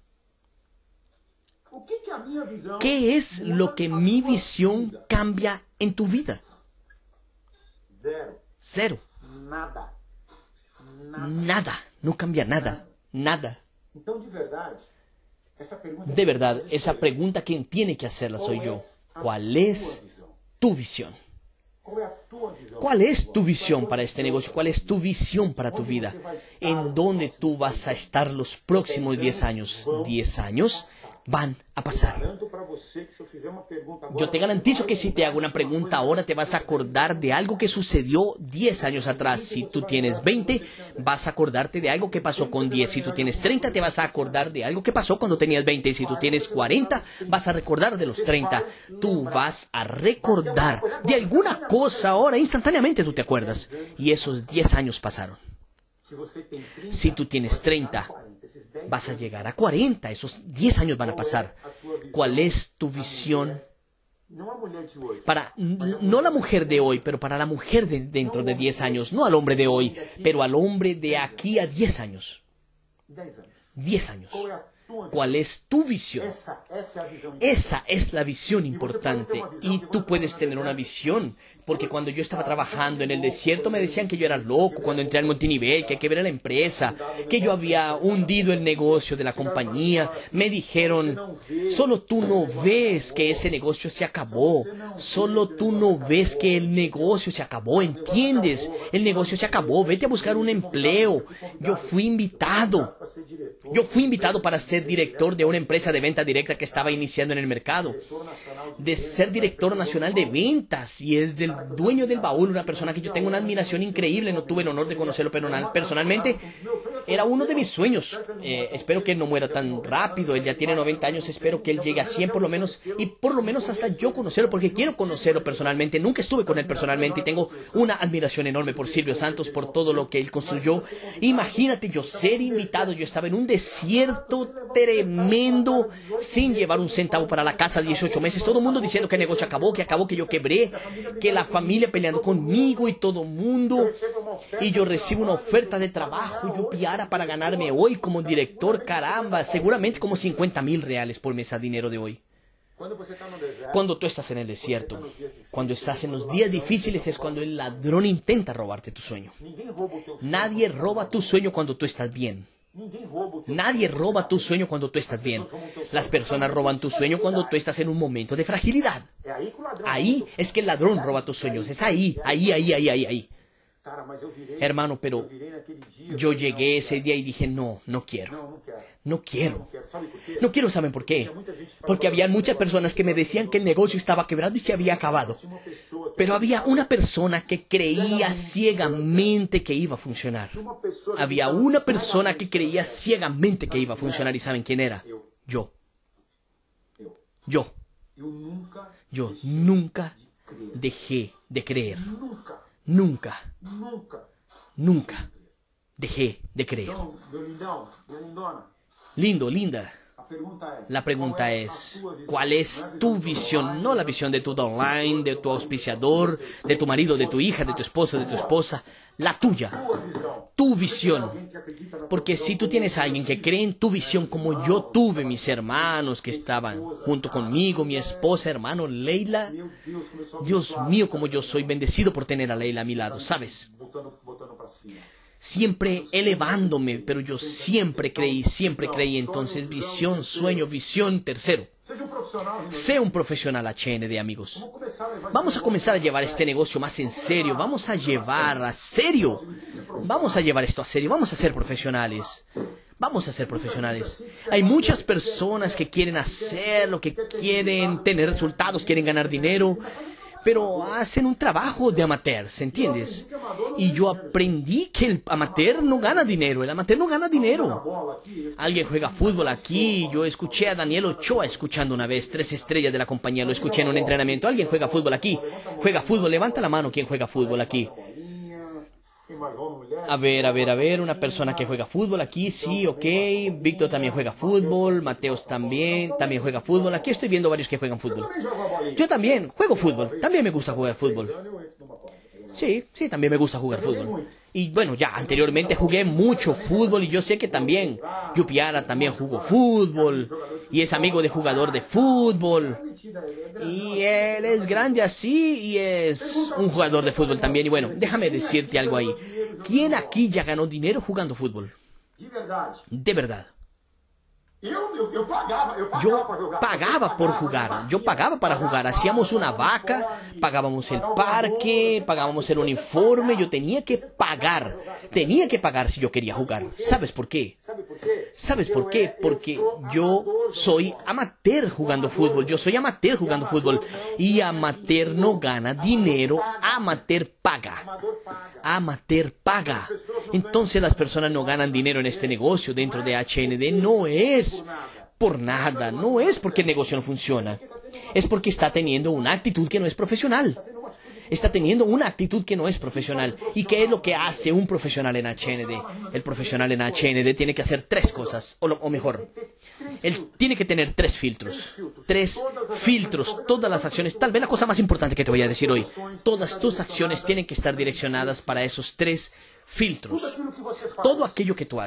¿Qué es lo que mi visión cambia en tu vida? Cero. Nada. No cambia nada. Nada. De verdad, esa pregunta quien tiene que hacerla soy yo. ¿Cuál es tu visión? ¿Cuál es tu visión para este negocio? ¿Cuál es tu visión para tu vida? ¿En dónde tú vas a estar los próximos 10 años? 10 años van a pasar. Yo te garantizo que si te hago una pregunta ahora te vas a acordar de algo que sucedió 10 años atrás. Si tú tienes 20, vas a acordarte de algo que pasó con 10. Si tú tienes 30, te vas a acordar de algo que pasó cuando tenías 20. Y si tú tienes 40, vas a recordar de los 30. Tú vas a recordar de alguna cosa ahora, instantáneamente tú te acuerdas. Y esos 10 años pasaron. Si tú tienes 30, vas a llegar a 40, esos 10 años van a pasar. ¿Cuál es tu visión? Para, no la mujer de hoy, pero para la mujer de dentro de 10 años. No al hombre de hoy, pero al hombre de aquí a 10 años. 10 años. ¿Cuál es tu visión? Esa es la visión importante. Y tú puedes tener una visión. Porque cuando yo estaba trabajando en el desierto me decían que yo era loco cuando entré al multinivel, que hay que ver a la empresa, que yo había hundido el negocio de la compañía. Me dijeron, solo tú no ves que ese negocio se acabó. Solo tú no ves que el negocio se acabó, ¿entiendes? El negocio se acabó, vete a buscar un empleo. Yo fui invitado para ser director de una empresa de venta directa que estaba iniciando en el mercado. De ser director nacional de ventas y es del dueño del baúl, una persona que yo tengo una admiración increíble. No tuve el honor de conocerlo personalmente. Era uno de mis sueños. Espero que él no muera tan rápido. Él ya tiene 90 años. Espero que él llegue a 100 por lo menos. Y por lo menos hasta yo conocerlo, porque quiero conocerlo personalmente. Nunca estuve con él personalmente y tengo una admiración enorme por Silvio Santos, por todo lo que él construyó. Imagínate yo ser invitado. Yo estaba en un desierto tremendo, sin llevar un centavo para la casa, 18 meses. Todo el mundo diciendo que el negocio acabó, que yo quebré, que la familia peleando conmigo y todo el mundo. Y yo recibo una oferta de trabajo, Yupiara, para ganarme hoy como director, caramba, seguramente como 50,000 reales por mes a dinero de hoy. Cuando tú estás en el desierto, cuando estás en los días difíciles, es cuando el ladrón intenta robarte tu sueño. Nadie roba tu sueño cuando tú estás bien. Nadie roba tu sueño cuando tú estás bien. Las personas roban tu sueño cuando tú estás en un momento de fragilidad. Ahí es que el ladrón roba tus sueños. Es ahí. Hermano, pero yo llegué ese día y dije, no, no quiero. No quiero. No quiero, ¿saben por qué? Porque había muchas personas que me decían que el negocio estaba quebrado y se había acabado. Pero había una persona que creía ciegamente que iba a funcionar. Había una persona que creía ciegamente que iba a funcionar. ¿Y saben quién era? Yo. Yo nunca dejé de creer. Nunca dejé de creer. Lindo, linda. La pregunta es, ¿cuál es tu visión? No la visión de tu online, de tu auspiciador, de tu marido, de tu hija, de tu esposo, de tu esposa. La tuya. Tu visión. Porque si tú tienes a alguien que cree en tu visión como yo tuve, mis hermanos que estaban junto conmigo, mi esposa, hermano Leila. Dios mío, como yo soy bendecido por tener a Leila a mi lado, ¿sabes? Siempre elevándome, pero yo siempre creí. Entonces, visión, sueño, visión, tercero. Sé un profesional HND, amigos. Vamos a comenzar a llevar este negocio más en serio. Vamos a llevar a serio. Vamos a llevar esto a serio. Vamos a ser profesionales. Vamos a ser profesionales. Hay muchas personas que quieren hacer lo que quieren, tener resultados, quieren ganar dinero, pero hacen un trabajo de amateur, ¿entiendes? Y yo aprendí que el amateur no gana dinero, el amateur no gana dinero. Alguien juega fútbol aquí, yo escuché a Daniel Ochoa escuchando una vez, 3 estrellas de la compañía, lo escuché en un entrenamiento. Alguien juega fútbol aquí, juega fútbol, levanta la mano quien juega fútbol aquí. A ver, una persona que juega fútbol aquí, sí, ok. Víctor también juega fútbol, Mateos también juega fútbol. Aquí estoy viendo varios que juegan fútbol. Yo también juego fútbol, también me gusta jugar fútbol. Sí, también me gusta jugar fútbol. Y bueno, ya anteriormente jugué mucho fútbol y yo sé que también Yupiara también jugó fútbol y es amigo de jugador de fútbol. Y él es grande así y es un jugador de fútbol también. Y bueno, déjame decirte algo ahí. ¿Quién aquí ya ganó dinero jugando fútbol? De verdad. Yo pagaba por jugar, yo pagaba para jugar, hacíamos una vaca, pagábamos el parque, pagábamos el uniforme, yo tenía que pagar si yo quería jugar. ¿Sabes por qué? ¿Sabes por qué? Porque yo soy amateur jugando fútbol, y amateur no gana dinero, amateur paga. Entonces las personas no ganan dinero en este negocio dentro de HND, no es por nada, no es porque el negocio no funciona, es porque está teniendo una actitud que no es profesional. ¿Y qué es lo que hace un profesional en HND? El profesional en HND tiene que hacer 3 cosas, o mejor, él tiene que tener 3 filtros. 3 filtros, todas las acciones, tal vez la cosa más importante que te voy a decir hoy, todas tus acciones tienen que estar direccionadas para esos 3 filtros. Todo aquello que tú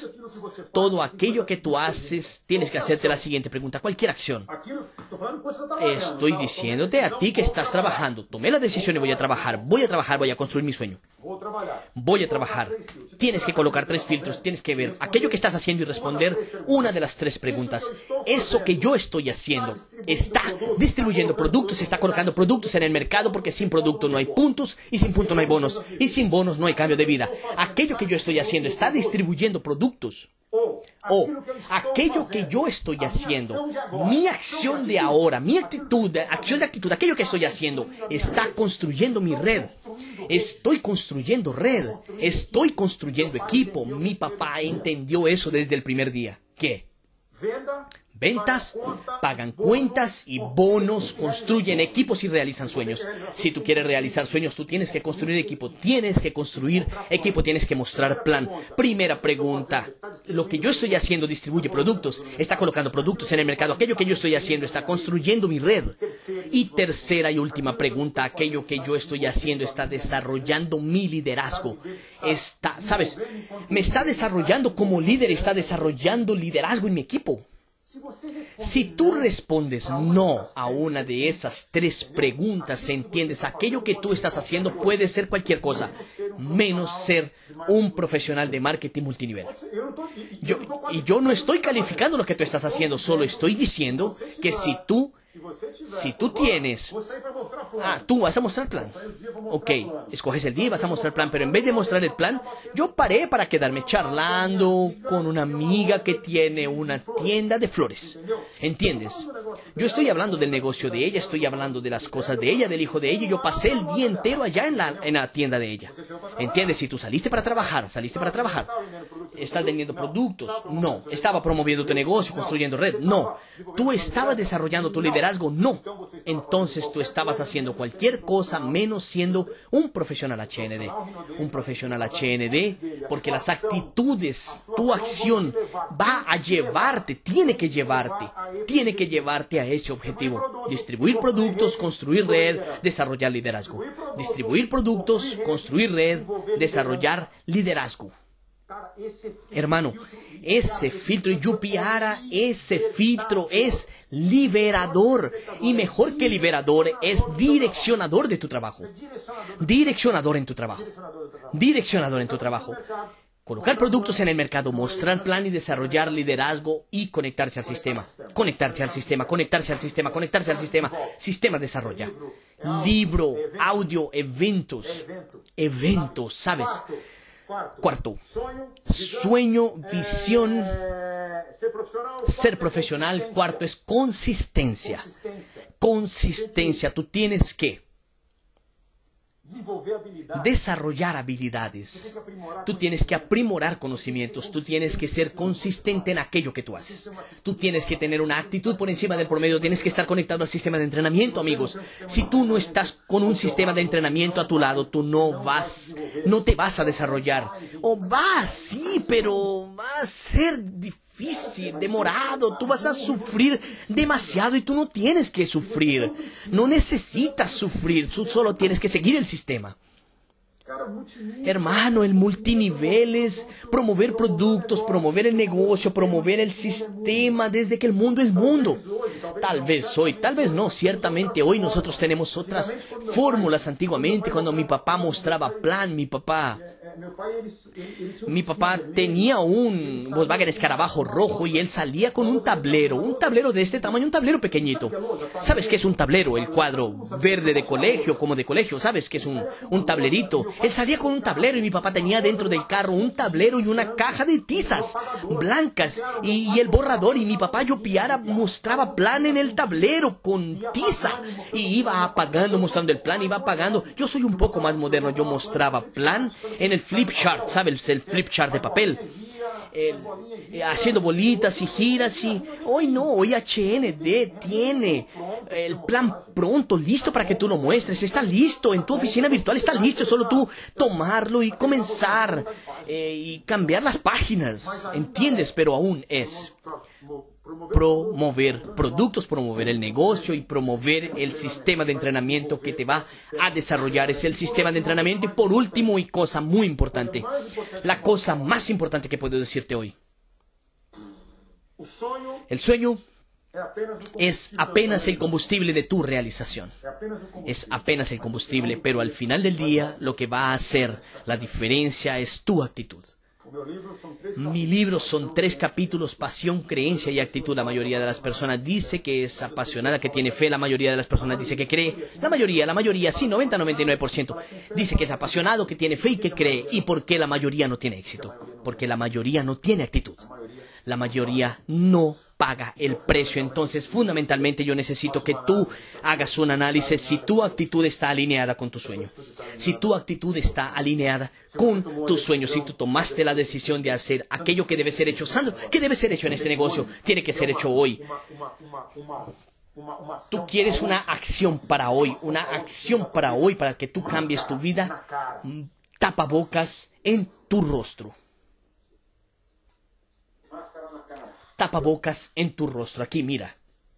haces, tienes que hacerte la siguiente pregunta. Cualquier acción. Estoy diciéndote a ti que estás trabajando. Tomé la decisión y voy a trabajar, voy a construir mi sueño. Voy a trabajar. Tienes que colocar 3 filtros, tienes que ver aquello que estás haciendo y responder una de las 3 preguntas. Eso que yo estoy haciendo, ¿está distribuyendo productos? ¿Está colocando productos en el mercado? Porque sin producto no hay puntos y sin puntos no hay bonos. Y sin bonos no hay cambio de vida. Aquello que yo estoy haciendo, ¿está distribuyendo productos? O aquello que yo estoy haciendo, mi acción de ahora, mi actitud, aquello que estoy haciendo, está construyendo mi red. Estoy construyendo red, estoy construyendo equipo. Mi papá entendió eso desde el primer día. ¿Qué? Ventas, pagan cuentas y bonos, construyen equipos y realizan sueños. Si tú quieres realizar sueños, tú tienes que construir equipo, tienes que mostrar plan. Primera pregunta, lo que yo estoy haciendo distribuye productos, está colocando productos en el mercado. Aquello que yo estoy haciendo está construyendo mi red. Y tercera y última pregunta, aquello que yo estoy haciendo está desarrollando mi liderazgo. ¿Sabes? Me está desarrollando como líder, está desarrollando liderazgo en mi equipo. Si tú respondes no a una de esas 3 preguntas, entiendes, aquello que tú estás haciendo puede ser cualquier cosa, menos ser un profesional de marketing multinivel. Yo no estoy calificando lo que tú estás haciendo, solo estoy diciendo que si tú tienes Tú vas a mostrar el plan. Ok, escoges el día y vas a mostrar el plan, pero en vez de mostrar el plan, yo paré para quedarme charlando con una amiga que tiene una tienda de flores. ¿Entiendes? Yo estoy hablando del negocio de ella, estoy hablando de las cosas de ella, del hijo de ella, y yo pasé el día entero allá en la tienda de ella. ¿Entiendes? Si tú saliste para trabajar. ¿Estás vendiendo productos? No. ¿Estaba promoviendo tu negocio, construyendo red? No. ¿Tú estabas desarrollando tu liderazgo? No. Entonces tú estabas haciendo cualquier cosa menos siendo un profesional HND. Un profesional HND, porque las actitudes, tu acción va a llevarte, tiene que llevarte a ese objetivo. Distribuir productos, construir red, desarrollar liderazgo. Distribuir productos, construir red, desarrollar liderazgo. Hermano, ese filtro Yupiara, ese filtro es liberador. Y mejor que liberador, es direccionador de tu trabajo. Direccionador en tu trabajo. Direccionador en tu trabajo. Colocar productos en el mercado, mostrar plan y desarrollar liderazgo y conectarse al sistema. Conectarse al sistema, conectarse al sistema, conectarse al sistema. Sistema desarrolla. Libro, audio, eventos. Eventos, ¿sabes? Cuarto, sueño, visión, ser profesional. Cuarto es consistencia. Consistencia. Tú tienes que desarrollar habilidades. Tú tienes que aprimorar conocimientos. Tú tienes que ser consistente en aquello que tú haces. Tú tienes que tener una actitud por encima del promedio. Tienes que estar conectado al sistema de entrenamiento, amigos. Si tú no estás con un sistema de entrenamiento a tu lado, tú no te vas a desarrollar. O vas, sí, pero va a ser difícil, demorado. Tú vas a sufrir demasiado y tú no tienes que sufrir. No necesitas sufrir. Tú solo tienes que seguir el sistema. Hermano, el multinivel es promover productos, promover el negocio, promover el sistema desde que el mundo es mundo. Tal vez hoy, tal vez no, ciertamente hoy nosotros tenemos otras fórmulas. Antiguamente, cuando mi papá mostraba plan, mi papá tenía un Volkswagen Escarabajo rojo y él salía con un tablero de este tamaño, un tablero pequeñito. ¿Sabes qué es un tablero? El cuadro verde de colegio, como de colegio, ¿sabes qué es un tablerito? Él salía con un tablero y mi papá tenía dentro del carro un tablero y una caja de tizas blancas y el borrador, y mi papá Yupiara mostraba plan en el tablero con tiza y iba apagando, mostrando el plan, iba apagando. Yo soy un poco más moderno, yo mostraba plan en el flip chart, ¿sabes? El flip chart de papel. Haciendo bolitas y giras y... Hoy HND tiene el plan pronto, listo para que tú lo muestres. Está listo, en tu oficina virtual está listo. Es solo tú tomarlo y comenzar y cambiar las páginas. ¿Entiendes? Pero aún es promover productos, promover el negocio y promover el sistema de entrenamiento que te va a desarrollar. Es el sistema de entrenamiento. Y por último, y cosa muy importante, la cosa más importante que puedo decirte hoy. El sueño es apenas el combustible de tu realización. Es apenas el combustible, pero al final del día lo que va a hacer la diferencia es tu actitud. Mi libro son 3 capítulos: pasión, creencia y actitud. La mayoría de las personas dice que es apasionada, que tiene fe. La mayoría de las personas dice que cree. La mayoría, sí, 99% dice que es apasionado, que tiene fe y que cree. ¿Y por qué la mayoría no tiene éxito? Porque la mayoría no tiene actitud. La mayoría no paga el precio. Entonces, fundamentalmente, yo necesito que tú hagas un análisis si tu actitud está alineada con tu sueño. Si tu actitud está alineada con tu sueño, si tú tomaste la decisión de hacer aquello que debe ser hecho. Sandro, ¿qué debe ser hecho en este negocio? Tiene que ser hecho hoy. Tú quieres una acción para hoy, para que tú cambies tu vida. Tapabocas en tu rostro. Tapabocas en tu rostro. Aquí, mira.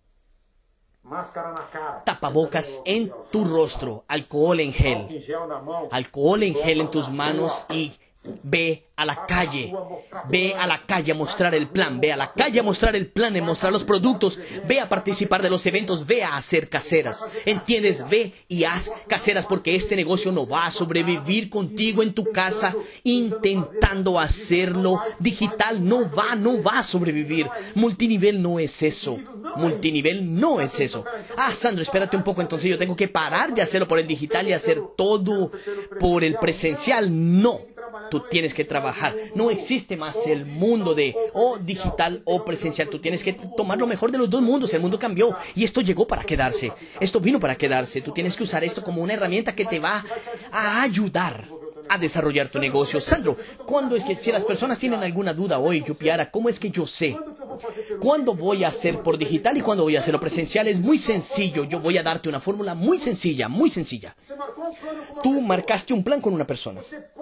Tapabocas en tu rostro. Alcohol en gel. Alcohol en gel en tus manos y ve a la calle. Ve a la calle a mostrar el plan. Ve a la calle a mostrar el plan, a mostrar los productos. Ve a participar de los eventos. Ve a hacer caseras. ¿Entiendes? Ve y haz caseras, porque este negocio no va a sobrevivir contigo en tu casa intentando hacerlo digital. No va a sobrevivir. Multinivel no es eso. Multinivel no es eso. Ah, Sandro, espérate un poco, entonces yo tengo que parar de hacerlo por el digital y hacer todo por el presencial. No. Tú tienes que trabajar. No existe más el mundo de o digital o presencial. Tú tienes que tomar lo mejor de los dos mundos. El mundo cambió y esto llegó para quedarse. Esto vino para quedarse. Tú tienes que usar esto como una herramienta que te va a ayudar a desarrollar tu negocio. Sandro, ¿cuándo es que, si las personas tienen alguna duda hoy, Yupiara, cómo es que yo sé cuándo voy a hacer por digital y cuándo voy a hacerlo presencial? Es muy sencillo. Yo voy a darte una fórmula muy sencilla, muy sencilla. Tú marcaste un plan con una persona.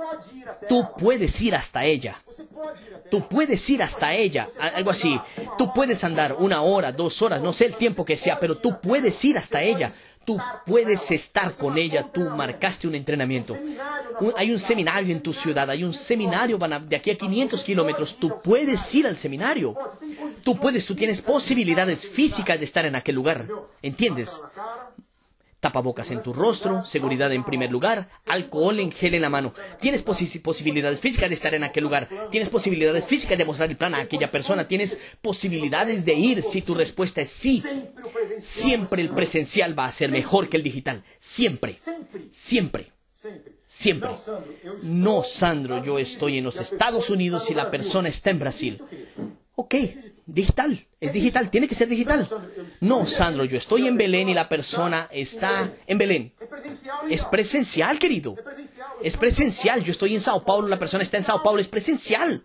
Tú puedes ir hasta ella. Tú puedes ir hasta ella, algo así. Tú puedes andar 1 hora, 2 horas, no sé el tiempo que sea, pero tú puedes ir hasta ella. Tú puedes estar con ella. Tú marcaste un entrenamiento. Hay un seminario en tu ciudad. Hay un seminario de aquí a 500 kilómetros. Tú puedes ir al seminario. Tú tienes posibilidades físicas de estar en aquel lugar. ¿Entiendes? Tapabocas en tu rostro, seguridad en primer lugar, alcohol en gel en la mano. Tienes posibilidades físicas de estar en aquel lugar. Tienes posibilidades físicas de mostrar el plan a aquella persona. Tienes posibilidades de ir si tu respuesta es sí. Siempre el presencial va a ser mejor que el digital. Siempre. Siempre. Siempre. No, Sandro, yo estoy en los Estados Unidos y la persona está en Brasil. Ok. Digital, es digital, tiene que ser digital. No, Sandro, yo estoy en Belén y la persona está en Belén. Es presencial, querido. Es presencial. Yo estoy en Sao Paulo, la persona está en Sao Paulo. Es presencial.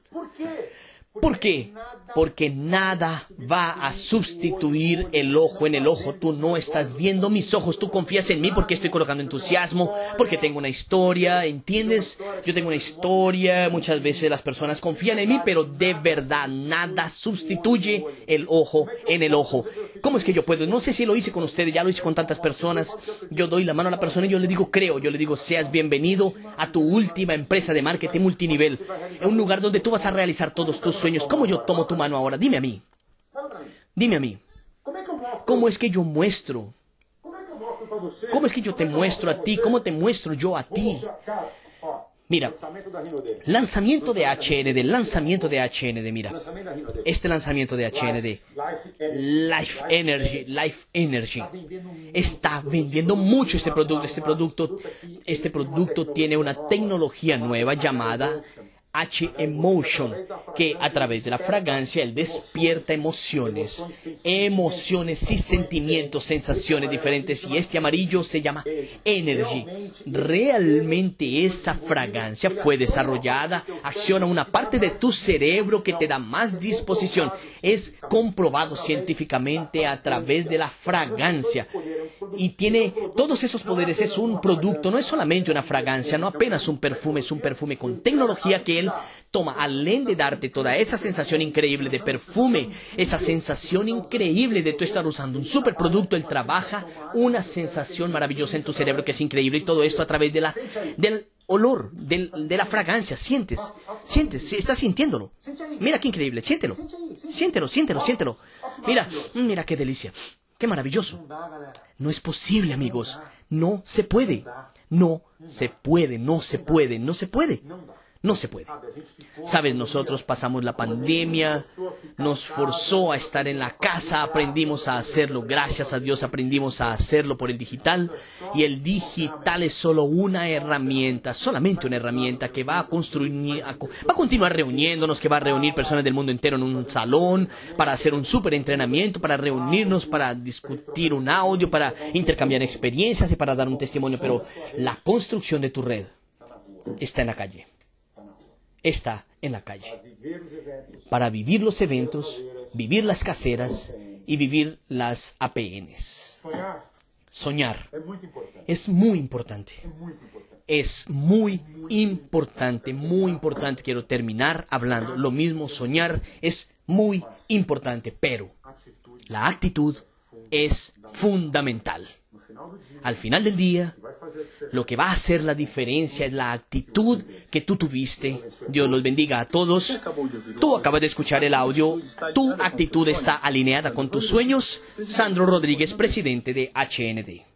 ¿Por qué? Porque nada va a sustituir el ojo en el ojo. Tú no estás viendo mis ojos. Tú confías en mí porque estoy colocando entusiasmo, porque tengo una historia, ¿entiendes? Yo tengo una historia. Muchas veces las personas confían en mí, pero de verdad nada sustituye el ojo en el ojo. ¿Cómo es que yo puedo? No sé si lo hice con ustedes, ya lo hice con tantas personas. Yo doy la mano a la persona y yo le digo, creo. Yo le digo, seas bienvenido a tu última empresa de marketing multinivel. En un lugar donde tú vas a realizar todos tus sueños. ¿Cómo yo tomo tu mano ahora? Dime a mí. Dime a mí. ¿Cómo es que yo muestro? ¿Cómo es que yo te muestro a ti? ¿Cómo te muestro yo a ti? Mira, lanzamiento de HND, mira. Este lanzamiento de HND, Life Energy, está vendiendo mucho este producto. Este producto tiene una tecnología nueva llamada H-Emotion, que a través de la fragancia él despierta emociones y sentimientos, sensaciones diferentes, y este amarillo se llama Energy. Realmente esa fragancia fue desarrollada, acciona una parte de tu cerebro que te da más disposición. Es comprobado científicamente a través de la fragancia. Y tiene todos esos poderes. Es un producto, no es solamente una fragancia, no apenas un perfume, es un perfume con tecnología que él toma, além de darte toda esa sensación increíble de perfume, esa sensación increíble de tú estar usando un superproducto. Él trabaja una sensación maravillosa en tu cerebro que es increíble, y todo esto a través del olor, de la fragancia. Sientes, estás sintiéndolo. Mira qué increíble, siéntelo. Mira qué delicia. ¡Qué maravilloso! No es posible, amigos. No se puede. No se puede. Sabes, nosotros pasamos la pandemia, nos forzó a estar en la casa, aprendimos a hacerlo. Gracias a Dios aprendimos a hacerlo por el digital. Y el digital es solo una herramienta, solamente una herramienta que va a continuar reuniéndonos, que va a reunir personas del mundo entero en un salón para hacer un súper entrenamiento, para reunirnos, para discutir un audio, para intercambiar experiencias y para dar un testimonio. Pero la construcción de tu red está en la calle. Está en la calle. Para vivir los eventos, vivir las caseras y vivir las APNs. Soñar es muy importante. Es muy importante. Quiero terminar hablando. Lo mismo, soñar es muy importante, pero la actitud es fundamental. Al final del día, lo que va a hacer la diferencia es la actitud que tú tuviste. Dios los bendiga a todos. Tú acabas de escuchar el audio. Tu actitud está alineada con tus sueños. Sandro Rodríguez, presidente de HND.